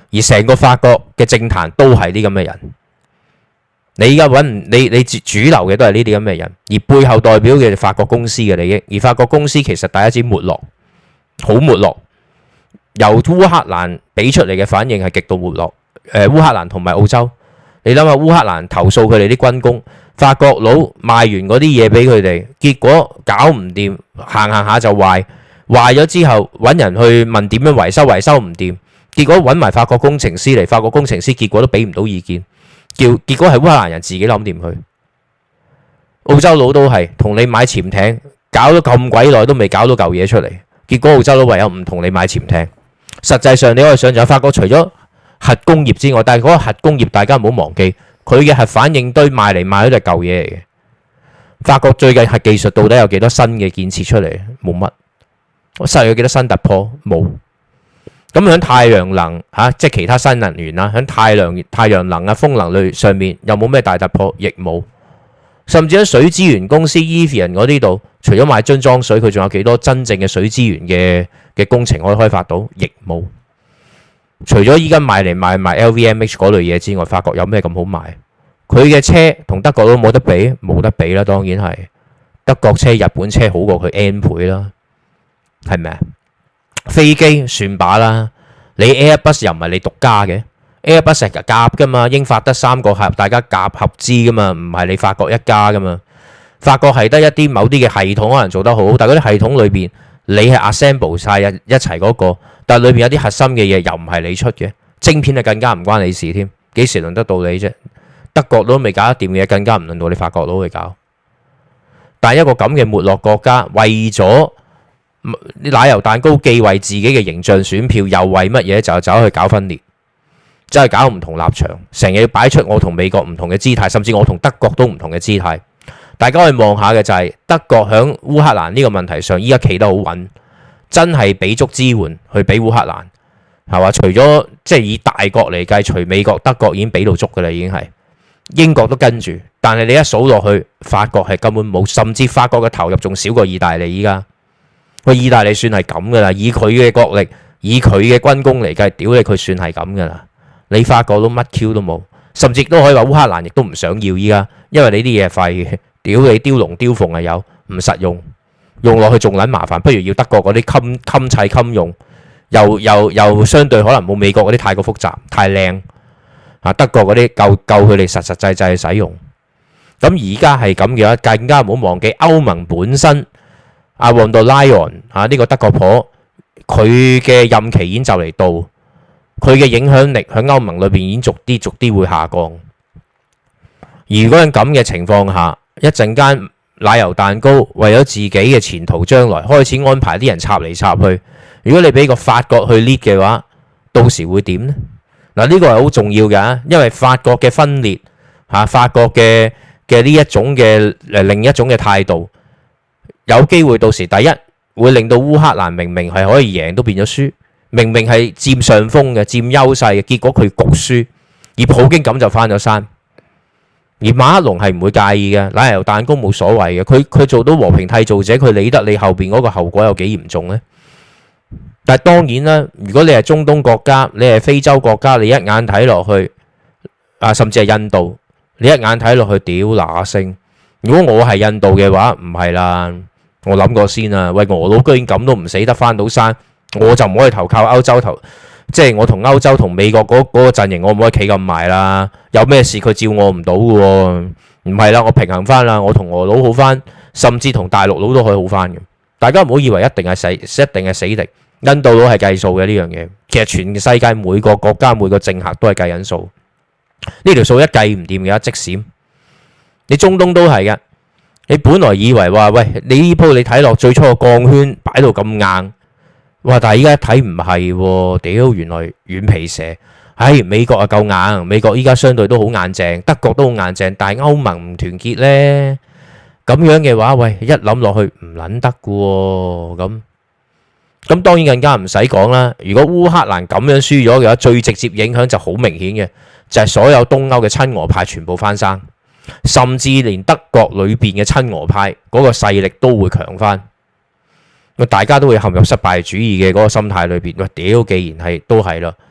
而成個法國嘅政壇都係啲咁嘅人。你而家揾唔你主流嘅都係呢啲咁嘅人，而背後代表嘅法國公司嘅利益，而法國公司其實第一次沒落，好沒落。由烏克蘭俾出嚟嘅反應係極度沒落。烏克蘭同埋澳洲，你諗下烏克蘭投訴佢哋啲軍工，法國佬賣完嗰啲嘢俾佢哋，結果搞唔掂，行下就壞咗之後揾人去問點樣維修，維修唔掂，結果揾埋法國工程師嚟，法國工程師結果都俾唔到意見。結果係烏克蘭人自己諗掂佢，澳洲佬都係同你買潛艇，搞咗咁鬼耐都未搞到嚿嘢出嚟，結果澳洲佬唯有唔同你買潛艇。實際上你可以想象，法國除咗核工業之外，但係嗰個核工業大家唔好忘記，佢嘅核反應堆賣嚟賣去都係舊嘢嚟嘅。法國最近核技術到底有幾多新嘅建設出嚟？冇乜。實有幾多新突破？冇。咁喺太陽能即係其他新能源啦，喺太陽能啊、風能類上面又冇咩大突破，亦冇。甚至喺水資源公司 Evian 嗰啲度，除咗賣樽裝水，佢仲有幾多真正嘅水資源嘅工程可以開發到？亦冇。除咗依家賣嚟賣埋 LVMH 嗰類嘢之外，法國有咩咁好賣？佢嘅車同德國都冇得比，冇得比啦，當然係德國車、日本車好過佢 N 倍啦，係咪啊？飛機算把啦，你 Airbus 又唔係你獨家嘅 ，Airbus 係夾噶嘛，英法德三個合，大家夾合資噶嘛，唔係你法國一家噶嘛。法國係得一啲某啲嘅系統可能做得好，但係嗰啲系統裏邊你係 assemble 晒一齊嗰個，但係裏邊有啲核心嘅嘢又唔係你出嘅，晶片就更加唔關你事添，幾時輪得到你啫？德國都未搞得掂嘅嘢，更加唔輪到你法國佬去搞。但係一個咁嘅沒落國家，為咗奶油蛋糕既為自己嘅形象選票，又為乜嘢就走去搞分裂，真係搞唔同立場，成日要擺出我同美國唔同嘅姿態，甚至我同德國都唔同嘅姿態。大家可以望下嘅就係德國響烏克蘭呢個問題上，依家企得好穩，真係俾足支援去俾烏克蘭，係嘛？除咗即係以大國嚟計，除美國、德國已經俾到足㗎啦，已經係英國都跟住，但係你一數落去，法國係根本冇，甚至法國嘅投入仲少過意大利依家。喂，意大利算係咁噶啦，以佢嘅國力，以佢嘅軍工嚟計，屌你佢算係咁噶啦。你法國都乜 Q 都冇，甚至都可以話烏克蘭亦都唔想要依家，因為你啲嘢廢嘅，屌你雕龍雕鳳係有，唔實用，用落去仲撚麻煩，不如要德國嗰啲襟砌襟用，又相對可能冇美國嗰啲太過複雜，太靚啊！德國嗰啲夠佢哋實實際際使用。咁而家係咁嘅話，更加唔好忘記歐盟本身。阿旺德萊恩呢個德國婆，佢嘅任期已經就嚟到，佢嘅影響力喺歐盟裏邊已經逐啲會下降。如果喺咁嘅情況下，一陣間奶油蛋糕為咗自己嘅前途將來開始安排啲人插嚟插去，如果你俾個法國去 lead 嘅話，到時會點呢？嗱，呢個係好重要嘅，因為法國嘅分裂法國嘅呢一種嘅另一種嘅態度。有機會到時第一會令到烏克蘭明明係可以贏都變咗輸，明明係佔上風嘅、佔優勢嘅，結果佢局輸，而普京咁就翻咗山。而馬克龍係唔會介意嘅，奶油蛋糕冇所謂嘅，佢做到和平締造者，佢理得你後邊嗰個後果有幾嚴重呢？但係當然啦，如果你係中東國家，你係非洲國家，你一眼睇落去甚至係印度，你一眼睇落去屌嗱聲。如果我係印度嘅話，唔係啦。我諗過先啊，喂，俄佬居然咁都唔死得翻到山，我就唔可以投靠歐洲即係我同歐洲同美國嗰個陣營，我唔可以企咁埋啦。有咩事佢照我唔到嘅喎，唔係啦，我平衡翻啦，我同俄佬好翻，甚至同大陸佬都可以好翻嘅。大家唔好以為一定係死敵，印度佬係計數嘅呢樣嘢。其實全世界每個國家每個政客都係計緊數，呢條數一計唔掂嘅即閃。你中東都係嘅。你本來以為話喂，你呢鋪你睇落最初個鋼圈擺到咁硬，哇！但係依家一睇唔係喎，屌原來軟皮蛇。美國啊夠硬，美國依家相對都好硬淨，德國都好硬淨，但係歐盟唔團結呢，咁樣嘅話，喂，一諗落去唔撚得嘅喎，咁當然更加唔使講啦。如果烏克蘭咁樣輸咗嘅話，最直接影響就好明顯嘅，就係所有東歐嘅親俄派全部翻生。甚至連德國裏邊嘅親俄派嗰個勢力都會強翻，大家都會陷入失敗主義嘅嗰個心態裏邊。喂，屌，既然係都係啦，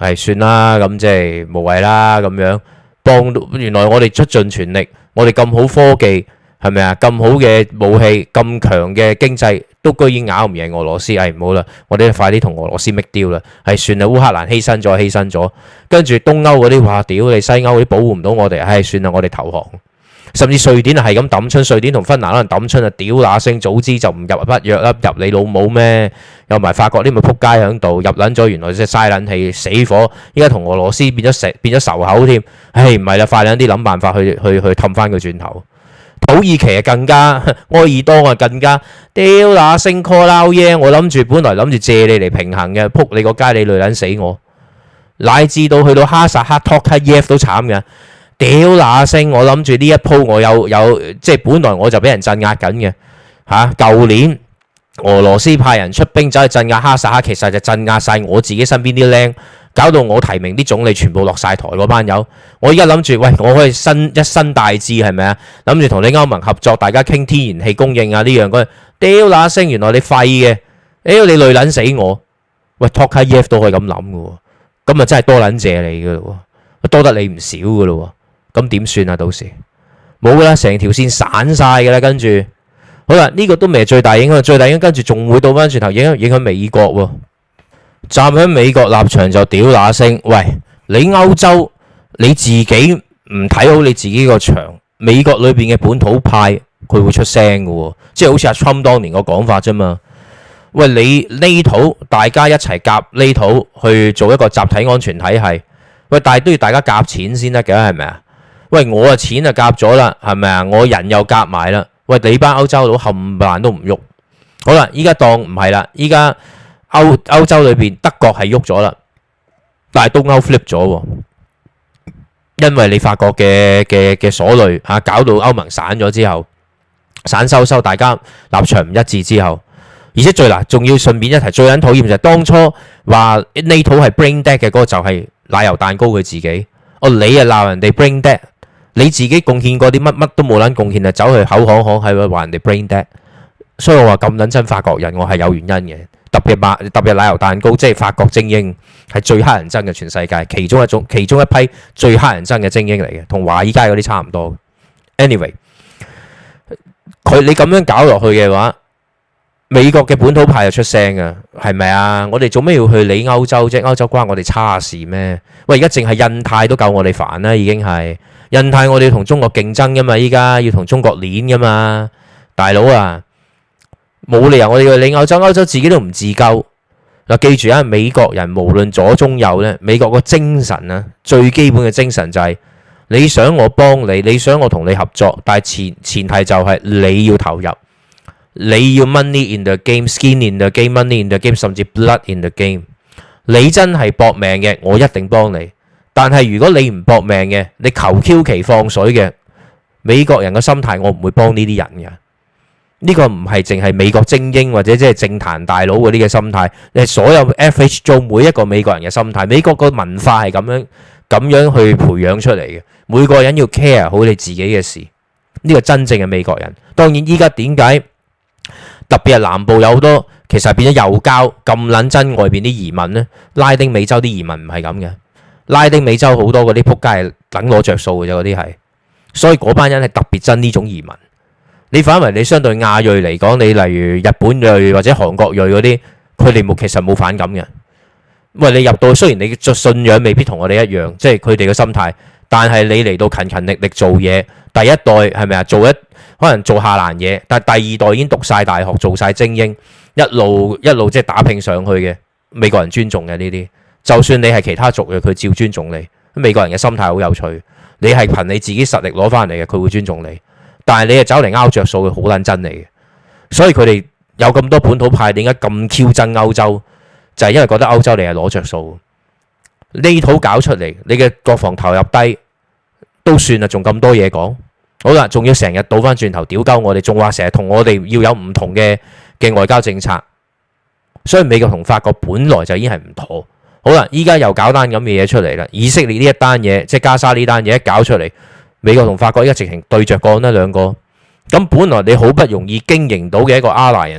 係算啦，咁即係無謂啦咁樣。幫到原來我哋出盡全力，我哋咁好科技係咪啊？咁好嘅武器，咁強嘅經濟，都居然咬唔贏俄羅斯。唔好啦，我哋快啲同俄羅斯搣雕啦。算啦，烏克蘭犧牲咗，跟住東歐嗰啲話屌你西歐嗰啲保護唔到我哋，算啦，我哋投降。甚至瑞典係咁抌春，瑞典同芬蘭可能抌春啊！屌那聲，早知就唔入北約啦，入你老母咩？有埋法國啲咪撲街喺度入撚咗，原來即係嘥撚氣死火。依家同俄羅斯變咗仇口添。唔係啦，快撚啲諗辦法去氹翻佢轉頭。土耳其啊更加，埃爾多啊更加屌那聲 call 撈耶！我本來諗住借你嚟平衡嘅，撲你個街你累撚死我，乃至到去到哈薩克托卡耶夫都慘嘅。屌那聲，我諗住呢一鋪我有即係本來我就俾人鎮壓緊嘅嚇。舊年俄羅斯派人出兵走去鎮壓哈薩克，其實就鎮壓晒我自己身邊啲僆，搞到我提名啲總理全部落晒台嗰班友。我依家諗住，喂，我可以一身大志係咪啊？諗住同你歐盟合作，大家傾天然氣供應啊呢樣嗰樣。屌那聲，原來你廢嘅，屌你累撚死我。喂，托卡耶夫都可以咁諗嘅喎，咁啊真係多撚謝你嘅咯喎，多得你唔少嘅咯喎。咁點算啊？到時冇噶啦，成條線散晒噶啦。跟住好啦，呢個都未係最大影響，最大影響跟住仲會倒翻轉頭影響美國喎。站喺美國立場就屌那聲，喂，你歐洲你自己唔睇好你自己個場，美國裏邊嘅本土派佢會出聲嘅喎，即係好似阿 Trump 當年個講法啫嘛。喂，你呢土大家一齊夾呢土去做一個集體安全體系，喂，但係都要大家夾錢先得嘅，係咪啊？喂，我啊錢就夾咗啦，係咪啊？我人又夾埋啦。喂，你班歐洲佬冚唪唥都唔喐。好啦，依家當唔係啦，依家歐洲裏邊德國係喐咗啦，但係東歐 flip 咗喎，因為你法國嘅所累嚇，搞到歐盟散咗之後，散收，大家立場唔一致之後，而且仲要順便一提，最撚討厭就係當初話呢套係 brain dead 嘅嗰個就係奶油蛋糕佢自己。你啊鬧人哋 brain dead。你自己貢獻過啲乜都冇撚貢獻啊，走去口行係咪話人哋 brain dead？所以我話咁撚憎法國人，我係有原因嘅。特別奶油蛋糕，即係法國精英係最乞人憎嘅全世界，其中一批最乞人憎嘅精英嚟嘅，同華爾街嗰啲差唔多。Anyway，你咁樣搞落去嘅話，美國嘅本土派就出聲啊，係咪啊？我哋做咩要去理歐洲啫？歐洲關我哋叉事咩？喂，而家淨係印太都夠我哋煩啦，已經係。印太我哋要同中國競爭噶嘛，依家要同中國攣噶嘛，大佬啊，冇理由我哋要理歐洲，歐洲自己都唔自救。嗱，記住啊，美國人無論左中右咧，美國個精神啊，最基本嘅精神就係你想我幫你，你想我同你合作，但係前提就係你要投入，你要 money in the game，skin in the game，money in the game，甚至 blood in the game。你真係搏命嘅，我一定幫你。但係如果你唔搏命嘅，你求 Q 其放水嘅，美國人嘅心態我唔會幫呢啲人嘅。呢個唔係淨係美國精英或者即係政壇大佬嗰啲嘅心態，你係所有 FH 做每一個美國人嘅心態。美國個文化係咁樣去培養出嚟嘅，每個人要 care 好你自己嘅事。呢個真正嘅美國人。當然依家點解特別係南部有好多其實變咗右膠咁撚憎外邊啲移民呢？拉丁美洲啲移民唔係咁嘅。拉丁美洲好多嗰啲撲街係等攞着數嘅啫，嗰啲係，所以嗰班人係特別憎呢種移民。你反為你相對亞裔嚟講，你例如日本裔或者韓國裔嗰啲，佢哋其實冇反感嘅。喂，你入到雖然你嘅信仰未必同我哋一樣，即係佢哋嘅心態，但係你嚟到勤勤力力做嘢，第一代係咪啊？可能做下欄嘢，但係第二代已經讀晒大學，做晒精英，一路即係打拼上去嘅，美國人尊重嘅呢啲。就算你係其他族嘅，佢照尊重你。美國人嘅心態好有趣，你係憑你自己實力攞翻嚟嘅，佢會尊重你。但係你係走嚟拗着數，佢好撚憎你嘅。所以佢哋有咁多本土派，點解咁 Q 憎歐洲？就係因為覺得歐洲你係攞着數。呢套搞出嚟，你嘅國防投入低都算啦，仲咁多嘢講。好啦，仲要成日倒翻轉頭屌鳩我哋，仲話成日同我哋要有唔同嘅外交政策。所以美國同法國本來就已經係唔妥。好啦，依家又搞單咁嘅嘢出嚟啦。以色列呢一單嘢，即係加沙呢單嘢一搞出嚟，美國同法國依家直情對着幹啦兩個。咁本來你好不容易經營到嘅一個 alliance，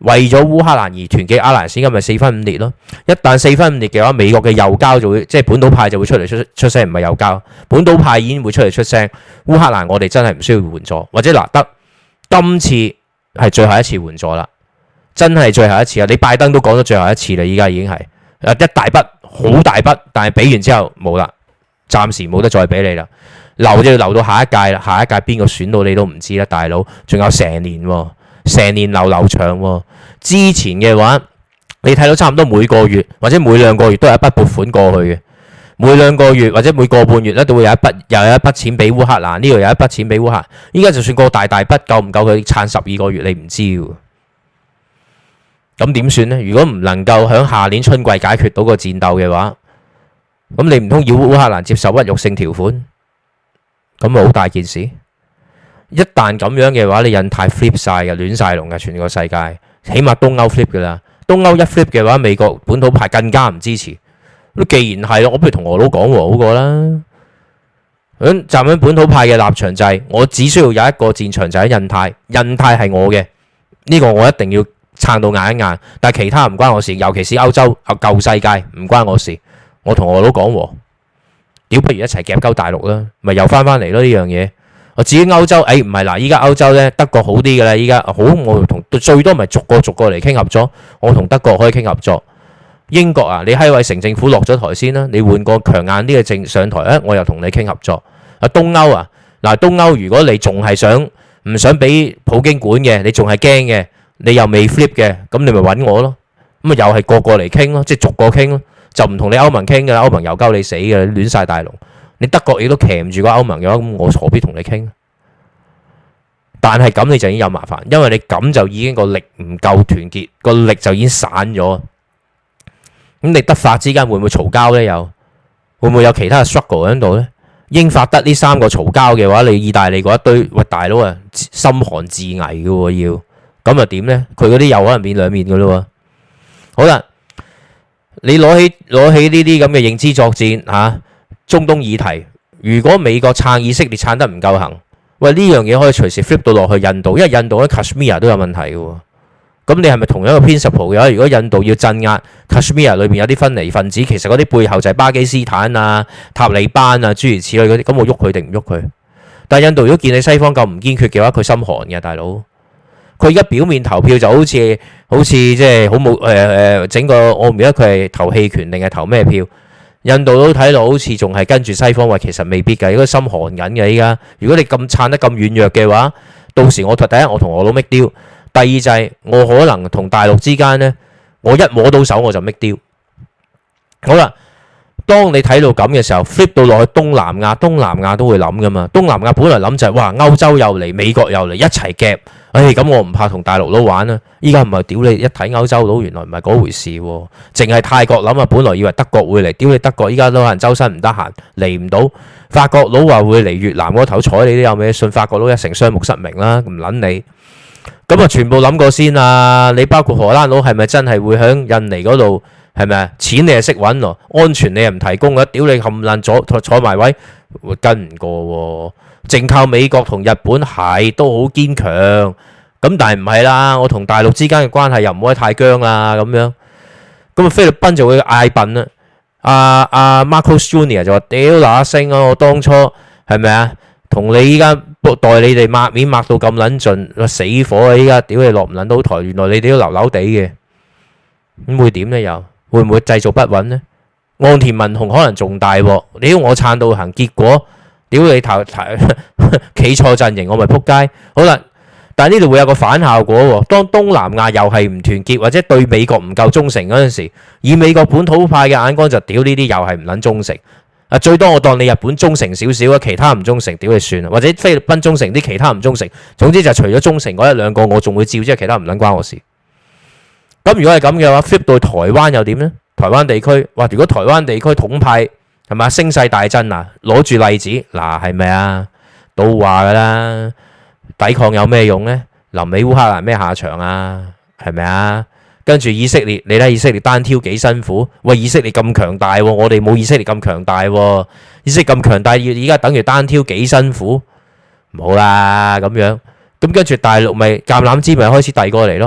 為咗烏克蘭而團結阿拉斯，咁咪四分五裂咯。一旦四分五裂嘅話，美國嘅右膠就會即係本土派就會出嚟出聲，唔係右膠，本土派已經會出嚟出聲。烏克蘭我哋真係唔需要援助，或者嗱得今次係最後一次援助啦，真係最後一次啊！你拜登都講咗最後一次啦，依家已經係一大筆好大筆，但係俾完之後冇啦，暫時冇得再俾你啦，留就要留到下一屆啦，下一屆邊個選到你都唔知啦，大佬，仲有成年喎。成年流長喎，之前嘅話你睇到差唔多每個月或者每兩個月都有一筆撥款過去嘅，每兩個月或者每個半月咧都會有一筆錢俾烏克蘭，呢度有一筆錢俾烏克蘭。依家就算個大筆夠唔夠佢撐12個月，你唔知喎。咁點算呢？如果唔能夠喺下年春季解決到個戰鬥嘅話，咁你唔通要烏克蘭接受屈辱性條款？咁咪好大件事。一旦咁樣嘅話，你印太 flip 晒嘅，亂晒龍嘅，全個世界，起碼東歐 flip 㗎啦。東歐一 flip 嘅話，美國本土派更加唔支持。咁既然係，我不如同俄佬講和好過啦。站喺本土派嘅立場就係，我只需要有一個戰場就喺印太，印太係我嘅，呢個我一定要撐到硬一硬。但係其他唔關我事，尤其是歐洲舊世界唔關我事。我同俄佬講和，屌不如一齊夾鳩大陸啦，咪又翻嚟咯呢樣嘢。我至於歐洲，唔係嗱，依家歐洲咧德國好啲嘅啦，依家好，我同最多咪逐個嚟傾合作，我同德國可以傾合作。英國啊，你喺位城政府落咗台先啦，你換個強硬啲嘅政上台，我又同你傾合作。東歐啊，嗱東歐如果你仲係唔想俾普京管嘅，你仲係驚嘅，你又未 flip 嘅，咁你咪揾我咯，咁啊又係個嚟傾咯，即係逐個傾咯，就唔同你歐盟傾嘅啦，歐盟又鳩你死嘅，亂晒大龍。你德國亦都騎唔住個歐盟嘅話，咁我何必同你傾？但係咁你就已經有麻煩，因為你咁就已經個力唔夠團結，個力就已經散咗。咁你德法之間會唔會嘈交呢？又會唔會有其他嘅 struggle 喺度呢？英法德呢三個嘈交嘅話，你意大利嗰一堆喂大佬啊，心寒自危嘅喎要，咁啊點呢？佢嗰啲又可能變兩面嘅咯喎。好啦，你攞起呢啲咁嘅認知作戰嚇。中東議題，如果美國撐以色列撐得唔夠行，喂呢樣嘢可以隨時 flip 到落去印度，因為印度喺 Kashmir 都有問題嘅喎。咁你係咪同樣嘅 principle 嘅話？如果印度要鎮壓 Kashmir 裏邊有啲分離分子，其實嗰啲背後就係巴基斯坦啊、塔利班啊諸如此類嗰啲，咁我喐佢定唔喐佢？但係印度如果見你西方咁唔堅決嘅話，佢心寒嘅大佬。佢而家表面投票就好似即係好冇整個，我唔記得佢係投棄權定係投咩票。印度都睇到好似仲係跟住西方，話其實未必㗎，應該心寒緊嘅依家。如果你咁撐得咁軟弱嘅話，到時我第一我同俄佬 make deal，第二就係我可能同大陸之間呢，我一摸到手我就 make deal。好啦，當你睇到咁嘅時候 flip 到落去東南亞都會諗㗎嘛。東南亞本來諗就係哇歐洲又嚟，美國又嚟一齊夾，咁我唔怕同大陸佬玩啦。依家唔係屌你，一睇歐洲佬原來唔係嗰回事喎，淨係泰國諗啊，本來以為德國會嚟，屌你德國依家都可能周身唔得閒嚟唔到。法國佬話會嚟越南嗰頭睬你都有咩？信法國佬一成雙目失明啦，唔撚你。咁啊全部諗過先啊！你包括荷蘭佬係咪真係會響印尼嗰度？係咪啊？錢你係識揾喎，安全你又唔提供嘅，屌你冚爛坐埋位，跟唔過喎。淨靠美國同日本係都好堅強，咁但係唔係啦。我同大陸之間嘅關係又唔可以太僵啦，咁樣咁啊菲律賓就會嗌笨啦。阿 Marcos Junior 就話：屌嗱聲啊！我當初係咪啊？同你依家代你哋抹面抹到咁撚盡，死火啊！依家屌你落唔撚到台，原來你哋都流流地嘅，咁會點呢？又會唔會製造不穩呢？岸田文雄可能仲大鑊，屌我撐到行，結果屌你企錯陣營，我咪撲街。好啦，但係呢度會有個反效果喎。當東南亞又係唔團結或者對美國唔夠忠誠嗰陣時，以美國本土派嘅眼光就屌呢啲又係唔撚忠誠。最多我當你日本忠誠少少啊，其他唔忠誠，屌你算啦。或者菲律賓忠誠啲，其他唔忠誠。總之就除咗忠誠嗰一兩個，我仲會照，即係其他唔撚關我事。咁如果係咁嘅話 flip 到台灣又點呢？台灣地區，哇！如果台灣地區統派係咪聲勢大振啊？攞住例子嗱，係咪啊？都話㗎啦，抵抗有咩用呢？臨尾烏克蘭咩下場啊？係咪啊？跟住以色列，你睇以色列單挑幾辛苦？喂，以色列咁強大喎，我哋冇以色列咁強大喎。以色列咁強大，而家等於單挑幾辛苦？唔好啦咁樣。咁跟住大陸咪橄欖枝咪開始遞過嚟咯。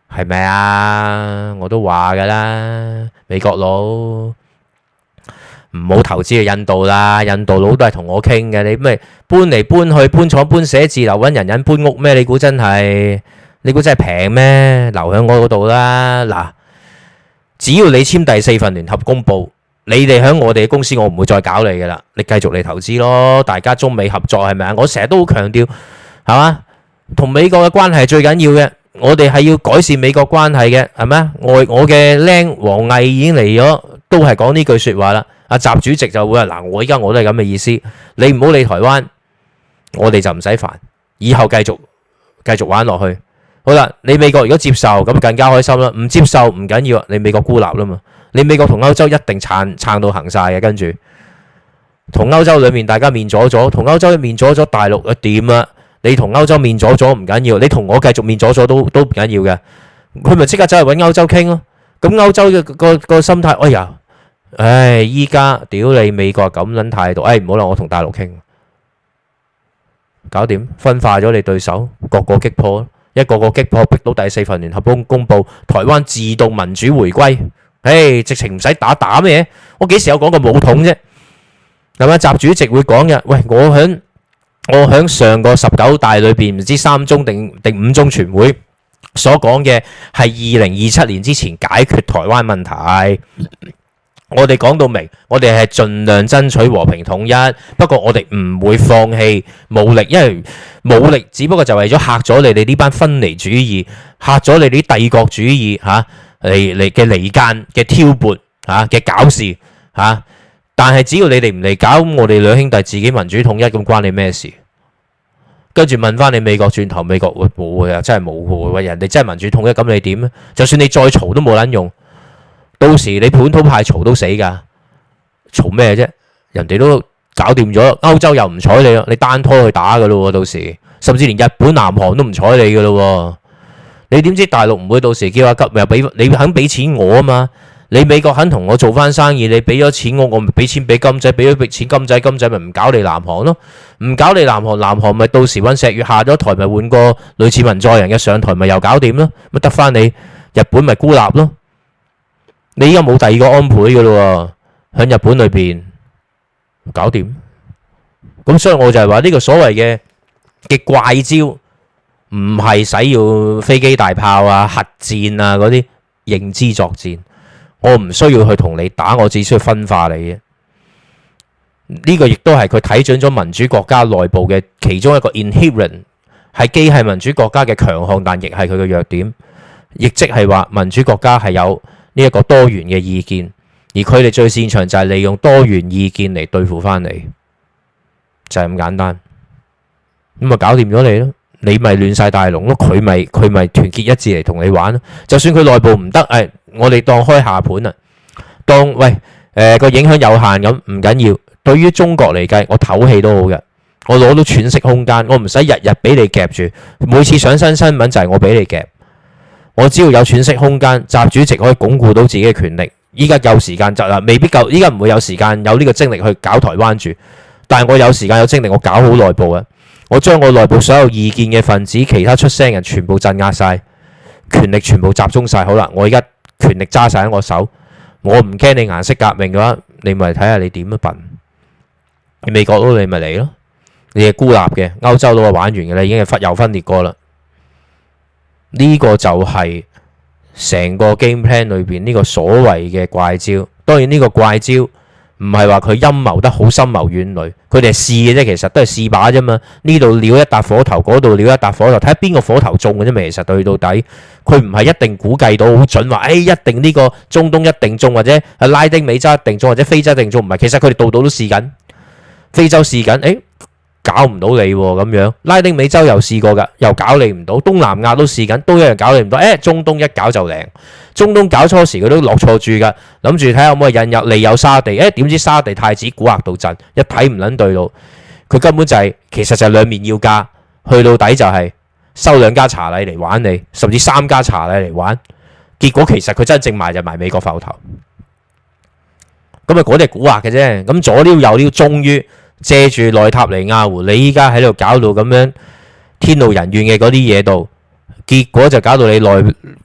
係咪啊？我都話㗎啦，美國佬唔好投資去印度啦，印度佬都係同我傾嘅。你咩搬嚟搬去，搬廠搬寫字樓揾人搬屋咩？你估真係平咩？留喺我嗰度啦。嗱，只要你簽第4份聯合公佈，你哋喺我哋嘅公司，我唔會再搞你㗎啦。你繼續嚟投資咯，大家中美合作係咪啊？我成日都好強調，係嘛？同美國嘅關係係最緊要嘅。我哋係要改善美國關係嘅，係咪啊？我嘅僆王毅已經嚟咗，都係講呢句説話啦。阿習主席就會話：嗱，我都係咁嘅意思，你唔好理台灣，我哋就唔使煩，以後繼續玩落去。好啦，你美國如果接受咁更加開心啦，唔接受唔緊要，你美國孤立啦嘛，你美國同歐洲一定撐到行晒嘅，跟住同歐洲裡面大家面阻阻，同歐洲面阻阻，大陸點啊？你同歐洲面阻阻唔緊要，你同我繼續面阻阻都唔緊要嘅，佢咪即刻走去揾歐洲傾咯。咁歐洲嘅個心態，哎呀，依家屌你美國咁撚態度，唔好啦，我同大陸傾，搞掂分化咗你對手，個個擊破，一個個擊破，逼到第4份聯合公佈，台灣自動民主回歸，直情唔使打咩嘢，我幾時有講過武統啫？係咪？習主席會講嘅，喂，我喺上個19大裏邊唔知3中定5中全會所講嘅係2027年之前解決台灣問題。我哋講到明，我哋係盡量爭取和平統一，不過我哋唔會放棄武力，因為武力只不過就為咗嚇咗你哋呢班分離主義，嚇咗你啲帝國主義嚟嘅離間嘅挑撥嘅搞事嚇。但係只要你哋唔嚟搞，我哋兩兄弟自己民主統一，咁關你咩事？跟住問翻你美國轉頭，美國會冇啊？真係冇喎！人哋真係民主統一，咁你點咧？就算你再嘈都冇撚用，到時你本土派嘈都死㗎，嘈咩啫？人哋都搞掂咗，歐洲又唔睬你咯，你單拖去打㗎咯喎，到時甚至連日本、南韓都唔睬你㗎咯喎，你點知大陸唔會到時叫阿急又俾你肯俾錢我啊嘛？你美國肯同我做翻生意，你俾咗錢我咪俾錢俾金仔，俾咗錢金仔咪唔搞你南韓咯，唔搞你南韓咪到時揾石月下咗台咪換個類似文在寅嘅上台咪又搞掂咯，咪得翻你日本咪孤立咯，你依家冇第二個安倍嘅咯喎，喺日本裏邊搞掂，咁所以我就係話呢個所謂嘅怪招唔係使要飛機大炮啊、核戰啊嗰啲認知作戰。我唔需要去同你打，我只需要分化你嘅。呢個亦都係佢睇準咗民主國家內部嘅其中一個 inherent， 係既係民主國家嘅強項，但亦係佢嘅弱點。亦即係話民主國家係有呢一個多元嘅意見，而佢哋最擅長就係利用多元意見嚟對付翻你，就係咁簡單。咁咪搞掂咗你咯，你咪亂晒大龍咯，佢咪團結一致嚟同你玩咯。就算佢內部唔得，我哋當開下盤啊，當個影響有限咁唔緊要。對於中國嚟計，我唞氣都好嘅，我攞到喘息空間，我唔使日日俾你夾住，每次上新聞就係我俾你夾，我只要有喘息空間，習主席可以鞏固到自己嘅權力。依家有時間就啦，未必夠，依家唔會有時間有呢個精力去搞台灣住，但係我有時間有精力，我搞好內部啊，我將我內部所有意見嘅分子、其他出聲人全部鎮壓晒，權力全部集中晒。好啦，我而家權力揸晒喺我手，我唔驚你顏色革命嘅話，你咪睇下你點樣笨。美國佬你咪嚟咯，你係孤立嘅，歐洲佬係玩完嘅啦，已經係又分裂過啦。呢個就係成個 game plan 裏邊呢個所謂嘅怪招。當然呢個怪招唔係話佢陰謀得好深謀遠慮，佢哋係試嘅啫，其實都係試把啫嘛。呢度撩一笪火頭，嗰度撩一笪火頭，睇下邊個火頭中嘅啫嘛。其實對到底，佢唔係一定估計到好準話，一定呢個中東一定中，或者拉丁美洲一定中，或者非洲一定中，唔係。其實佢哋度度都試緊，非洲試緊，搞唔到你喎咁樣。拉丁美洲又試過㗎，又搞你唔到。東南亞都試緊，都一樣搞你唔到。中東一搞就靈。中東搞初時佢都落錯注㗎，諗住睇下可唔可以引入利誘沙地，點知沙地太子蠱惑到震，一睇唔撚對路，佢根本就係其實就係兩面要價，去到底就係收兩家茶禮嚟玩你，甚至三家茶禮嚟玩。結果其實佢真正賣就賣美國埠頭，咁啊嗰啲係蠱惑嘅啫。咁左撩右撩，終於借住內塔尼亞胡，你依家喺度搞到咁樣天怒人怨嘅嗰啲嘢度，結果就搞到你內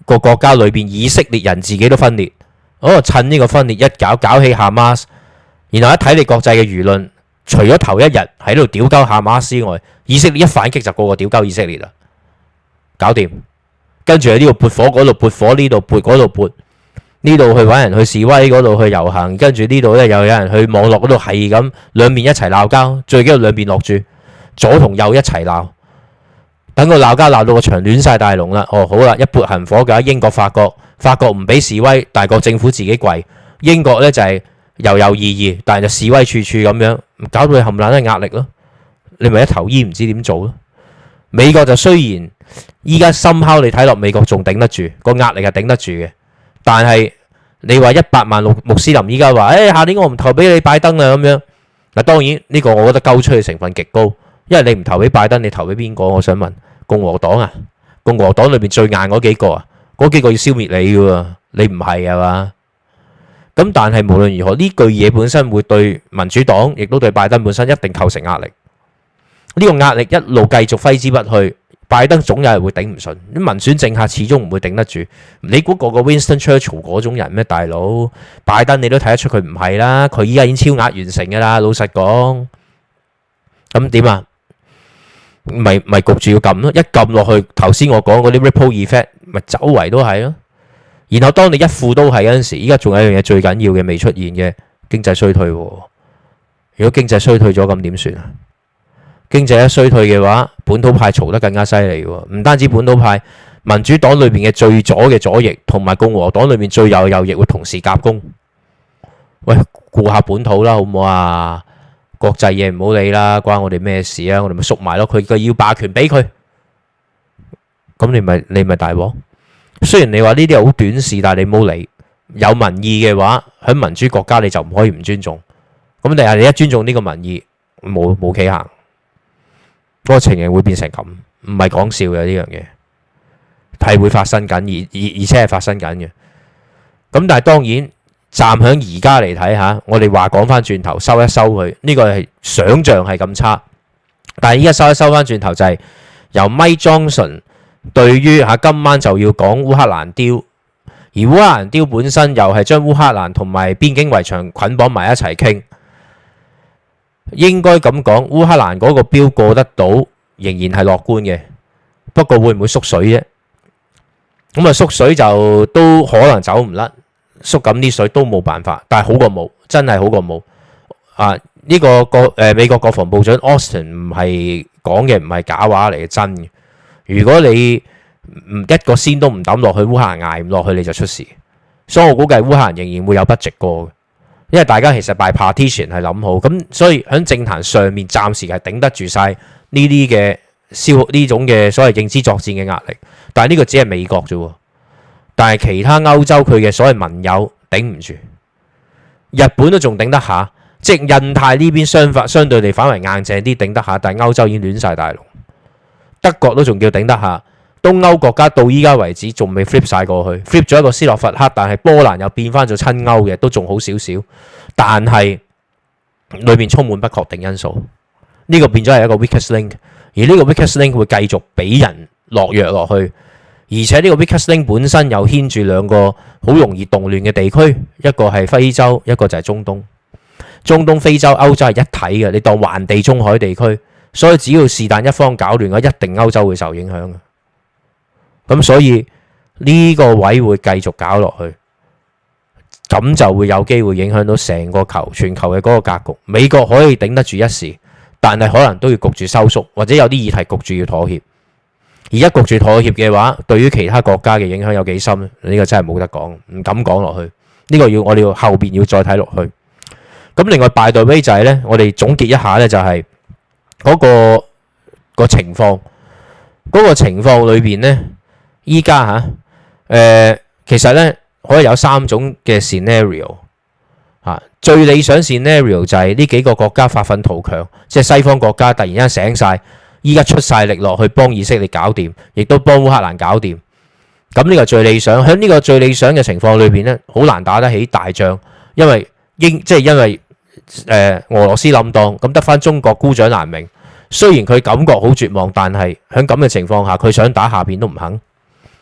個國家裏邊以色列人自己都分裂，趁呢個分裂一搞起哈馬斯，然後一睇你國際嘅輿論，除咗頭一日喺度屌鳩哈馬斯之外，以色列一反擊就個個屌鳩以色列啦，搞掂。跟住喺呢度撥火，嗰度撥火，呢度撥，嗰度撥，呢度去揾人去示威，嗰度去遊行，跟住呢度咧又有人去網絡嗰度係咁兩邊一齊鬧交，最緊要兩邊落住，左同右一齊鬧，等個鬧交鬧到個場亂晒大龍啦。好啦，一撥行火嘅英國、法國唔俾示威，大國政府自己跪，英國咧就係猶猶豫豫，但係就示威處處咁樣，搞到佢冚唪唥都係壓力咯。你咪一頭煙唔知點做咯。美國就雖然依家somehow你睇落美國仲頂得住，個壓力係頂得住嘅，但係你話100萬穆斯林依家話，下年我唔投俾你拜登啦咁樣。嗱，當然呢個我覺得鳩吹嘅成分極高，因為你唔投俾拜登，你投俾邊個？我想問共和黨啊，共和黨裏邊最硬嗰幾個啊，嗰幾個要消滅你嘅喎，你唔係啊嘛？咁但係無論如何，呢句嘢本身會對民主黨，亦都對拜登本身一定構成壓力。呢個壓力一路繼續揮之不去，拜登總有係會頂唔順。啲民選政客始終唔會頂得住。你估個 Winston Churchill 嗰種人咩？大佬，拜登你都睇得出佢唔係啦。佢依家已經超額完成㗎啦。老實講，咁點啊？咪焗住要撳咯。一撳落去，頭先我講嗰啲 ripple effect，咪周圍都係咯。然後當你一副都係嗰陣時，依家仲有一樣嘢最緊要嘅未出現嘅經濟衰退。如果經濟衰退咗，咁點算啊？經濟一衰退嘅話，本土派嘈得更加犀利喎。唔單止本土派，民主黨裏邊嘅最左嘅左翼，同埋共和黨裏邊最右右翼會同時夾攻。喂，顧下本土啦，好唔好啊？國際嘢唔好理啦，關我哋咩事啊？我哋咪縮埋咯。佢要霸權俾佢，咁你咪大鑊。雖然你話呢啲係好短視，但係你冇理。有民意嘅話，喺民主國家你就唔可以唔尊重。咁但係你一尊重呢個民意，冇企行。嗰個情形會變成咁，唔係講笑嘅，呢樣嘢係會發生緊，而且係發生緊嘅。咁但係當然站喺而家嚟睇下，我哋話講翻轉頭收一收佢，呢個係想像係咁差。但係依家收翻轉頭就係由 Mike Johnson 對於今晚就要講烏克蘭雕，而烏克蘭雕本身又係將烏克蘭同埋邊境圍牆捆綁埋一齊傾。應該咁講，烏克蘭嗰個標過得到，仍然係樂觀嘅。不過會唔會縮水啫？咁啊縮水就都可能走唔甩，縮緊啲水都冇辦法。但係好過冇，真係好過冇。呢個美國國防部長 Austin 唔係講嘅，唔係假話嚟嘅，真嘅。如果你一個仙都唔抌落去，烏克蘭捱唔落去，你就出事。所以我估計烏克蘭仍然會有budget過嘅。因為大家其實 by partition 係諗好，咁所以喺政壇上面暫時係頂得住晒呢啲嘅呢種嘅所謂認知作戰嘅壓力，但係呢個只係美國啫，但係其他歐洲佢嘅所謂盟友頂唔住，日本都仲頂得下，即係印太呢邊相對地反為硬淨啲頂得下，但係歐洲已經亂晒大龍，德國都仲叫頂得下。東歐國家到依家為止仲未 flip 晒過去 ，flip 咗一個斯洛伐克，但係波蘭又變翻做親歐嘅，都仲好少少。但係裏面充滿不確定因素，呢個變咗係一個 weakest link， 而呢個 weakest link 會繼續俾人落藥落去，而且呢個 weakest link 本身又牽住兩個好容易動亂嘅地區，一個係非洲，一個就係中東。中東、非洲、歐洲係一體嘅，你當環地中海地區，所以只要是但一方搞亂嘅，一定歐洲會受影響嘅。咁所以呢個位會繼續搞落去，咁就會有機會影響到成個全球嘅嗰個格局。美國可以頂得住一時，但係可能都要焗住收縮，或者有啲議題焗住要妥協。而一焗住妥協嘅話，對於其他國家嘅影響有幾深呢？呢個真係冇得講，唔敢講落去。呢個我哋要後邊要再睇落去。咁另外by the way就係呢，我哋總結一下呢，就係嗰個情況，嗰個情況裏邊呢。依家其實咧可以有3種嘅 scenario 最理想 scenario 就係呢幾個國家發奮圖強，即係西方國家突然間醒晒，依家出晒力落去幫以色列搞掂，亦都幫烏克蘭搞掂。咁呢個最理想。喺呢個最理想嘅情況裏邊咧，好難打得起大仗，因為俄羅斯冧檔，咁得翻中國孤掌難鳴。雖然佢感覺好絕望，但係喺咁嘅情況下，佢想打下邊都唔肯。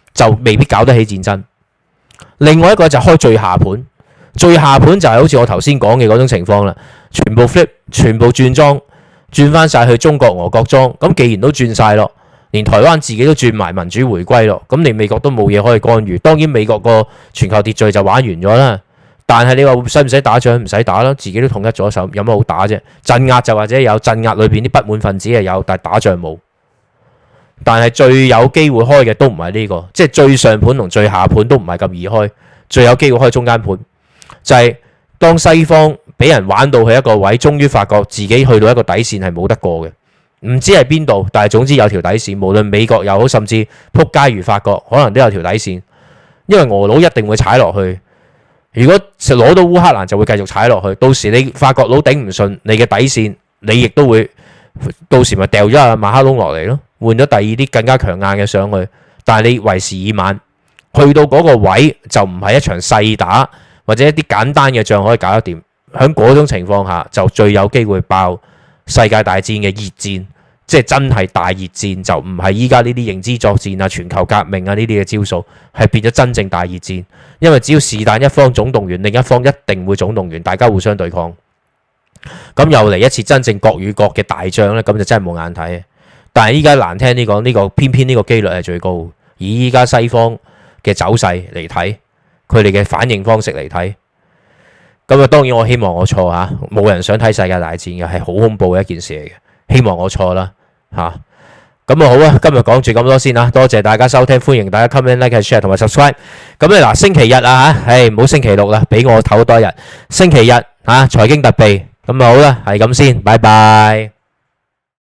就未必搞得起戰爭。另外一個就開最下盤，最下盤就係好似我頭先講嘅嗰種情況啦，全部 flip， 全部轉裝，轉翻晒去中國俄國裝。咁既然都轉晒咯，連台灣自己都轉埋民主回歸咯，咁你美國都冇嘢可以干預。當然美國個全球秩序就玩完咗啦。但係你話使唔使打仗？唔使打啦，自己都統一咗手，有乜好打啫？鎮壓就或者有鎮壓裏邊啲不滿分子係有，但係打仗冇。但係最有機會開嘅都唔係呢個，即係最上盤同最下盤都唔係咁易開，最有機會開中間盤，就係當西方俾人玩到去一個位，終於發覺自己去到一個底線係冇得過嘅，唔知係邊度，但係總之有條底線，無論美國又好，甚至撲街如法國，可能都有條底線，因為俄佬一定會踩落去。如果攞到烏克蘭就會繼續踩落去，到時你法國佬頂唔順你嘅底線，你亦都會到時咪掉咗阿馬克龍落嚟咯，換咗第二啲更加強硬嘅上去。但係你為時已晚，去到嗰個位就唔係一場細打或者一啲簡單嘅仗可以搞得掂。喺嗰種情況下就最有機會爆世界大戰嘅熱戰，即係真係大熱戰，就唔係依家呢啲認知作戰啊、全球革命啊呢啲嘅招數，係變咗真正大熱戰。因為只要是但一方總動員，另一方一定會總動員，大家互相對抗。咁又嚟一次真正國與國嘅大仗呢，咁就真係冇眼睇。但係依家難聽啲講，呢個偏偏呢個機率係最高。以依家西方嘅走勢嚟睇，佢哋嘅反應方式嚟睇，咁啊當然我希望我錯嚇，冇人想睇世界大戰嘅，係好恐怖嘅一件事嚟嘅。希望我錯啦嚇。咁啊好啊，今日講住咁多先啦，多謝大家收聽，歡迎大家 comment、like、share 同埋 subscribe。咁咧嗱，星期日啊嚇，唔好星期六啦，俾我唞多日。星期日嚇財經特備，咁啊好啦，係咁先，拜拜。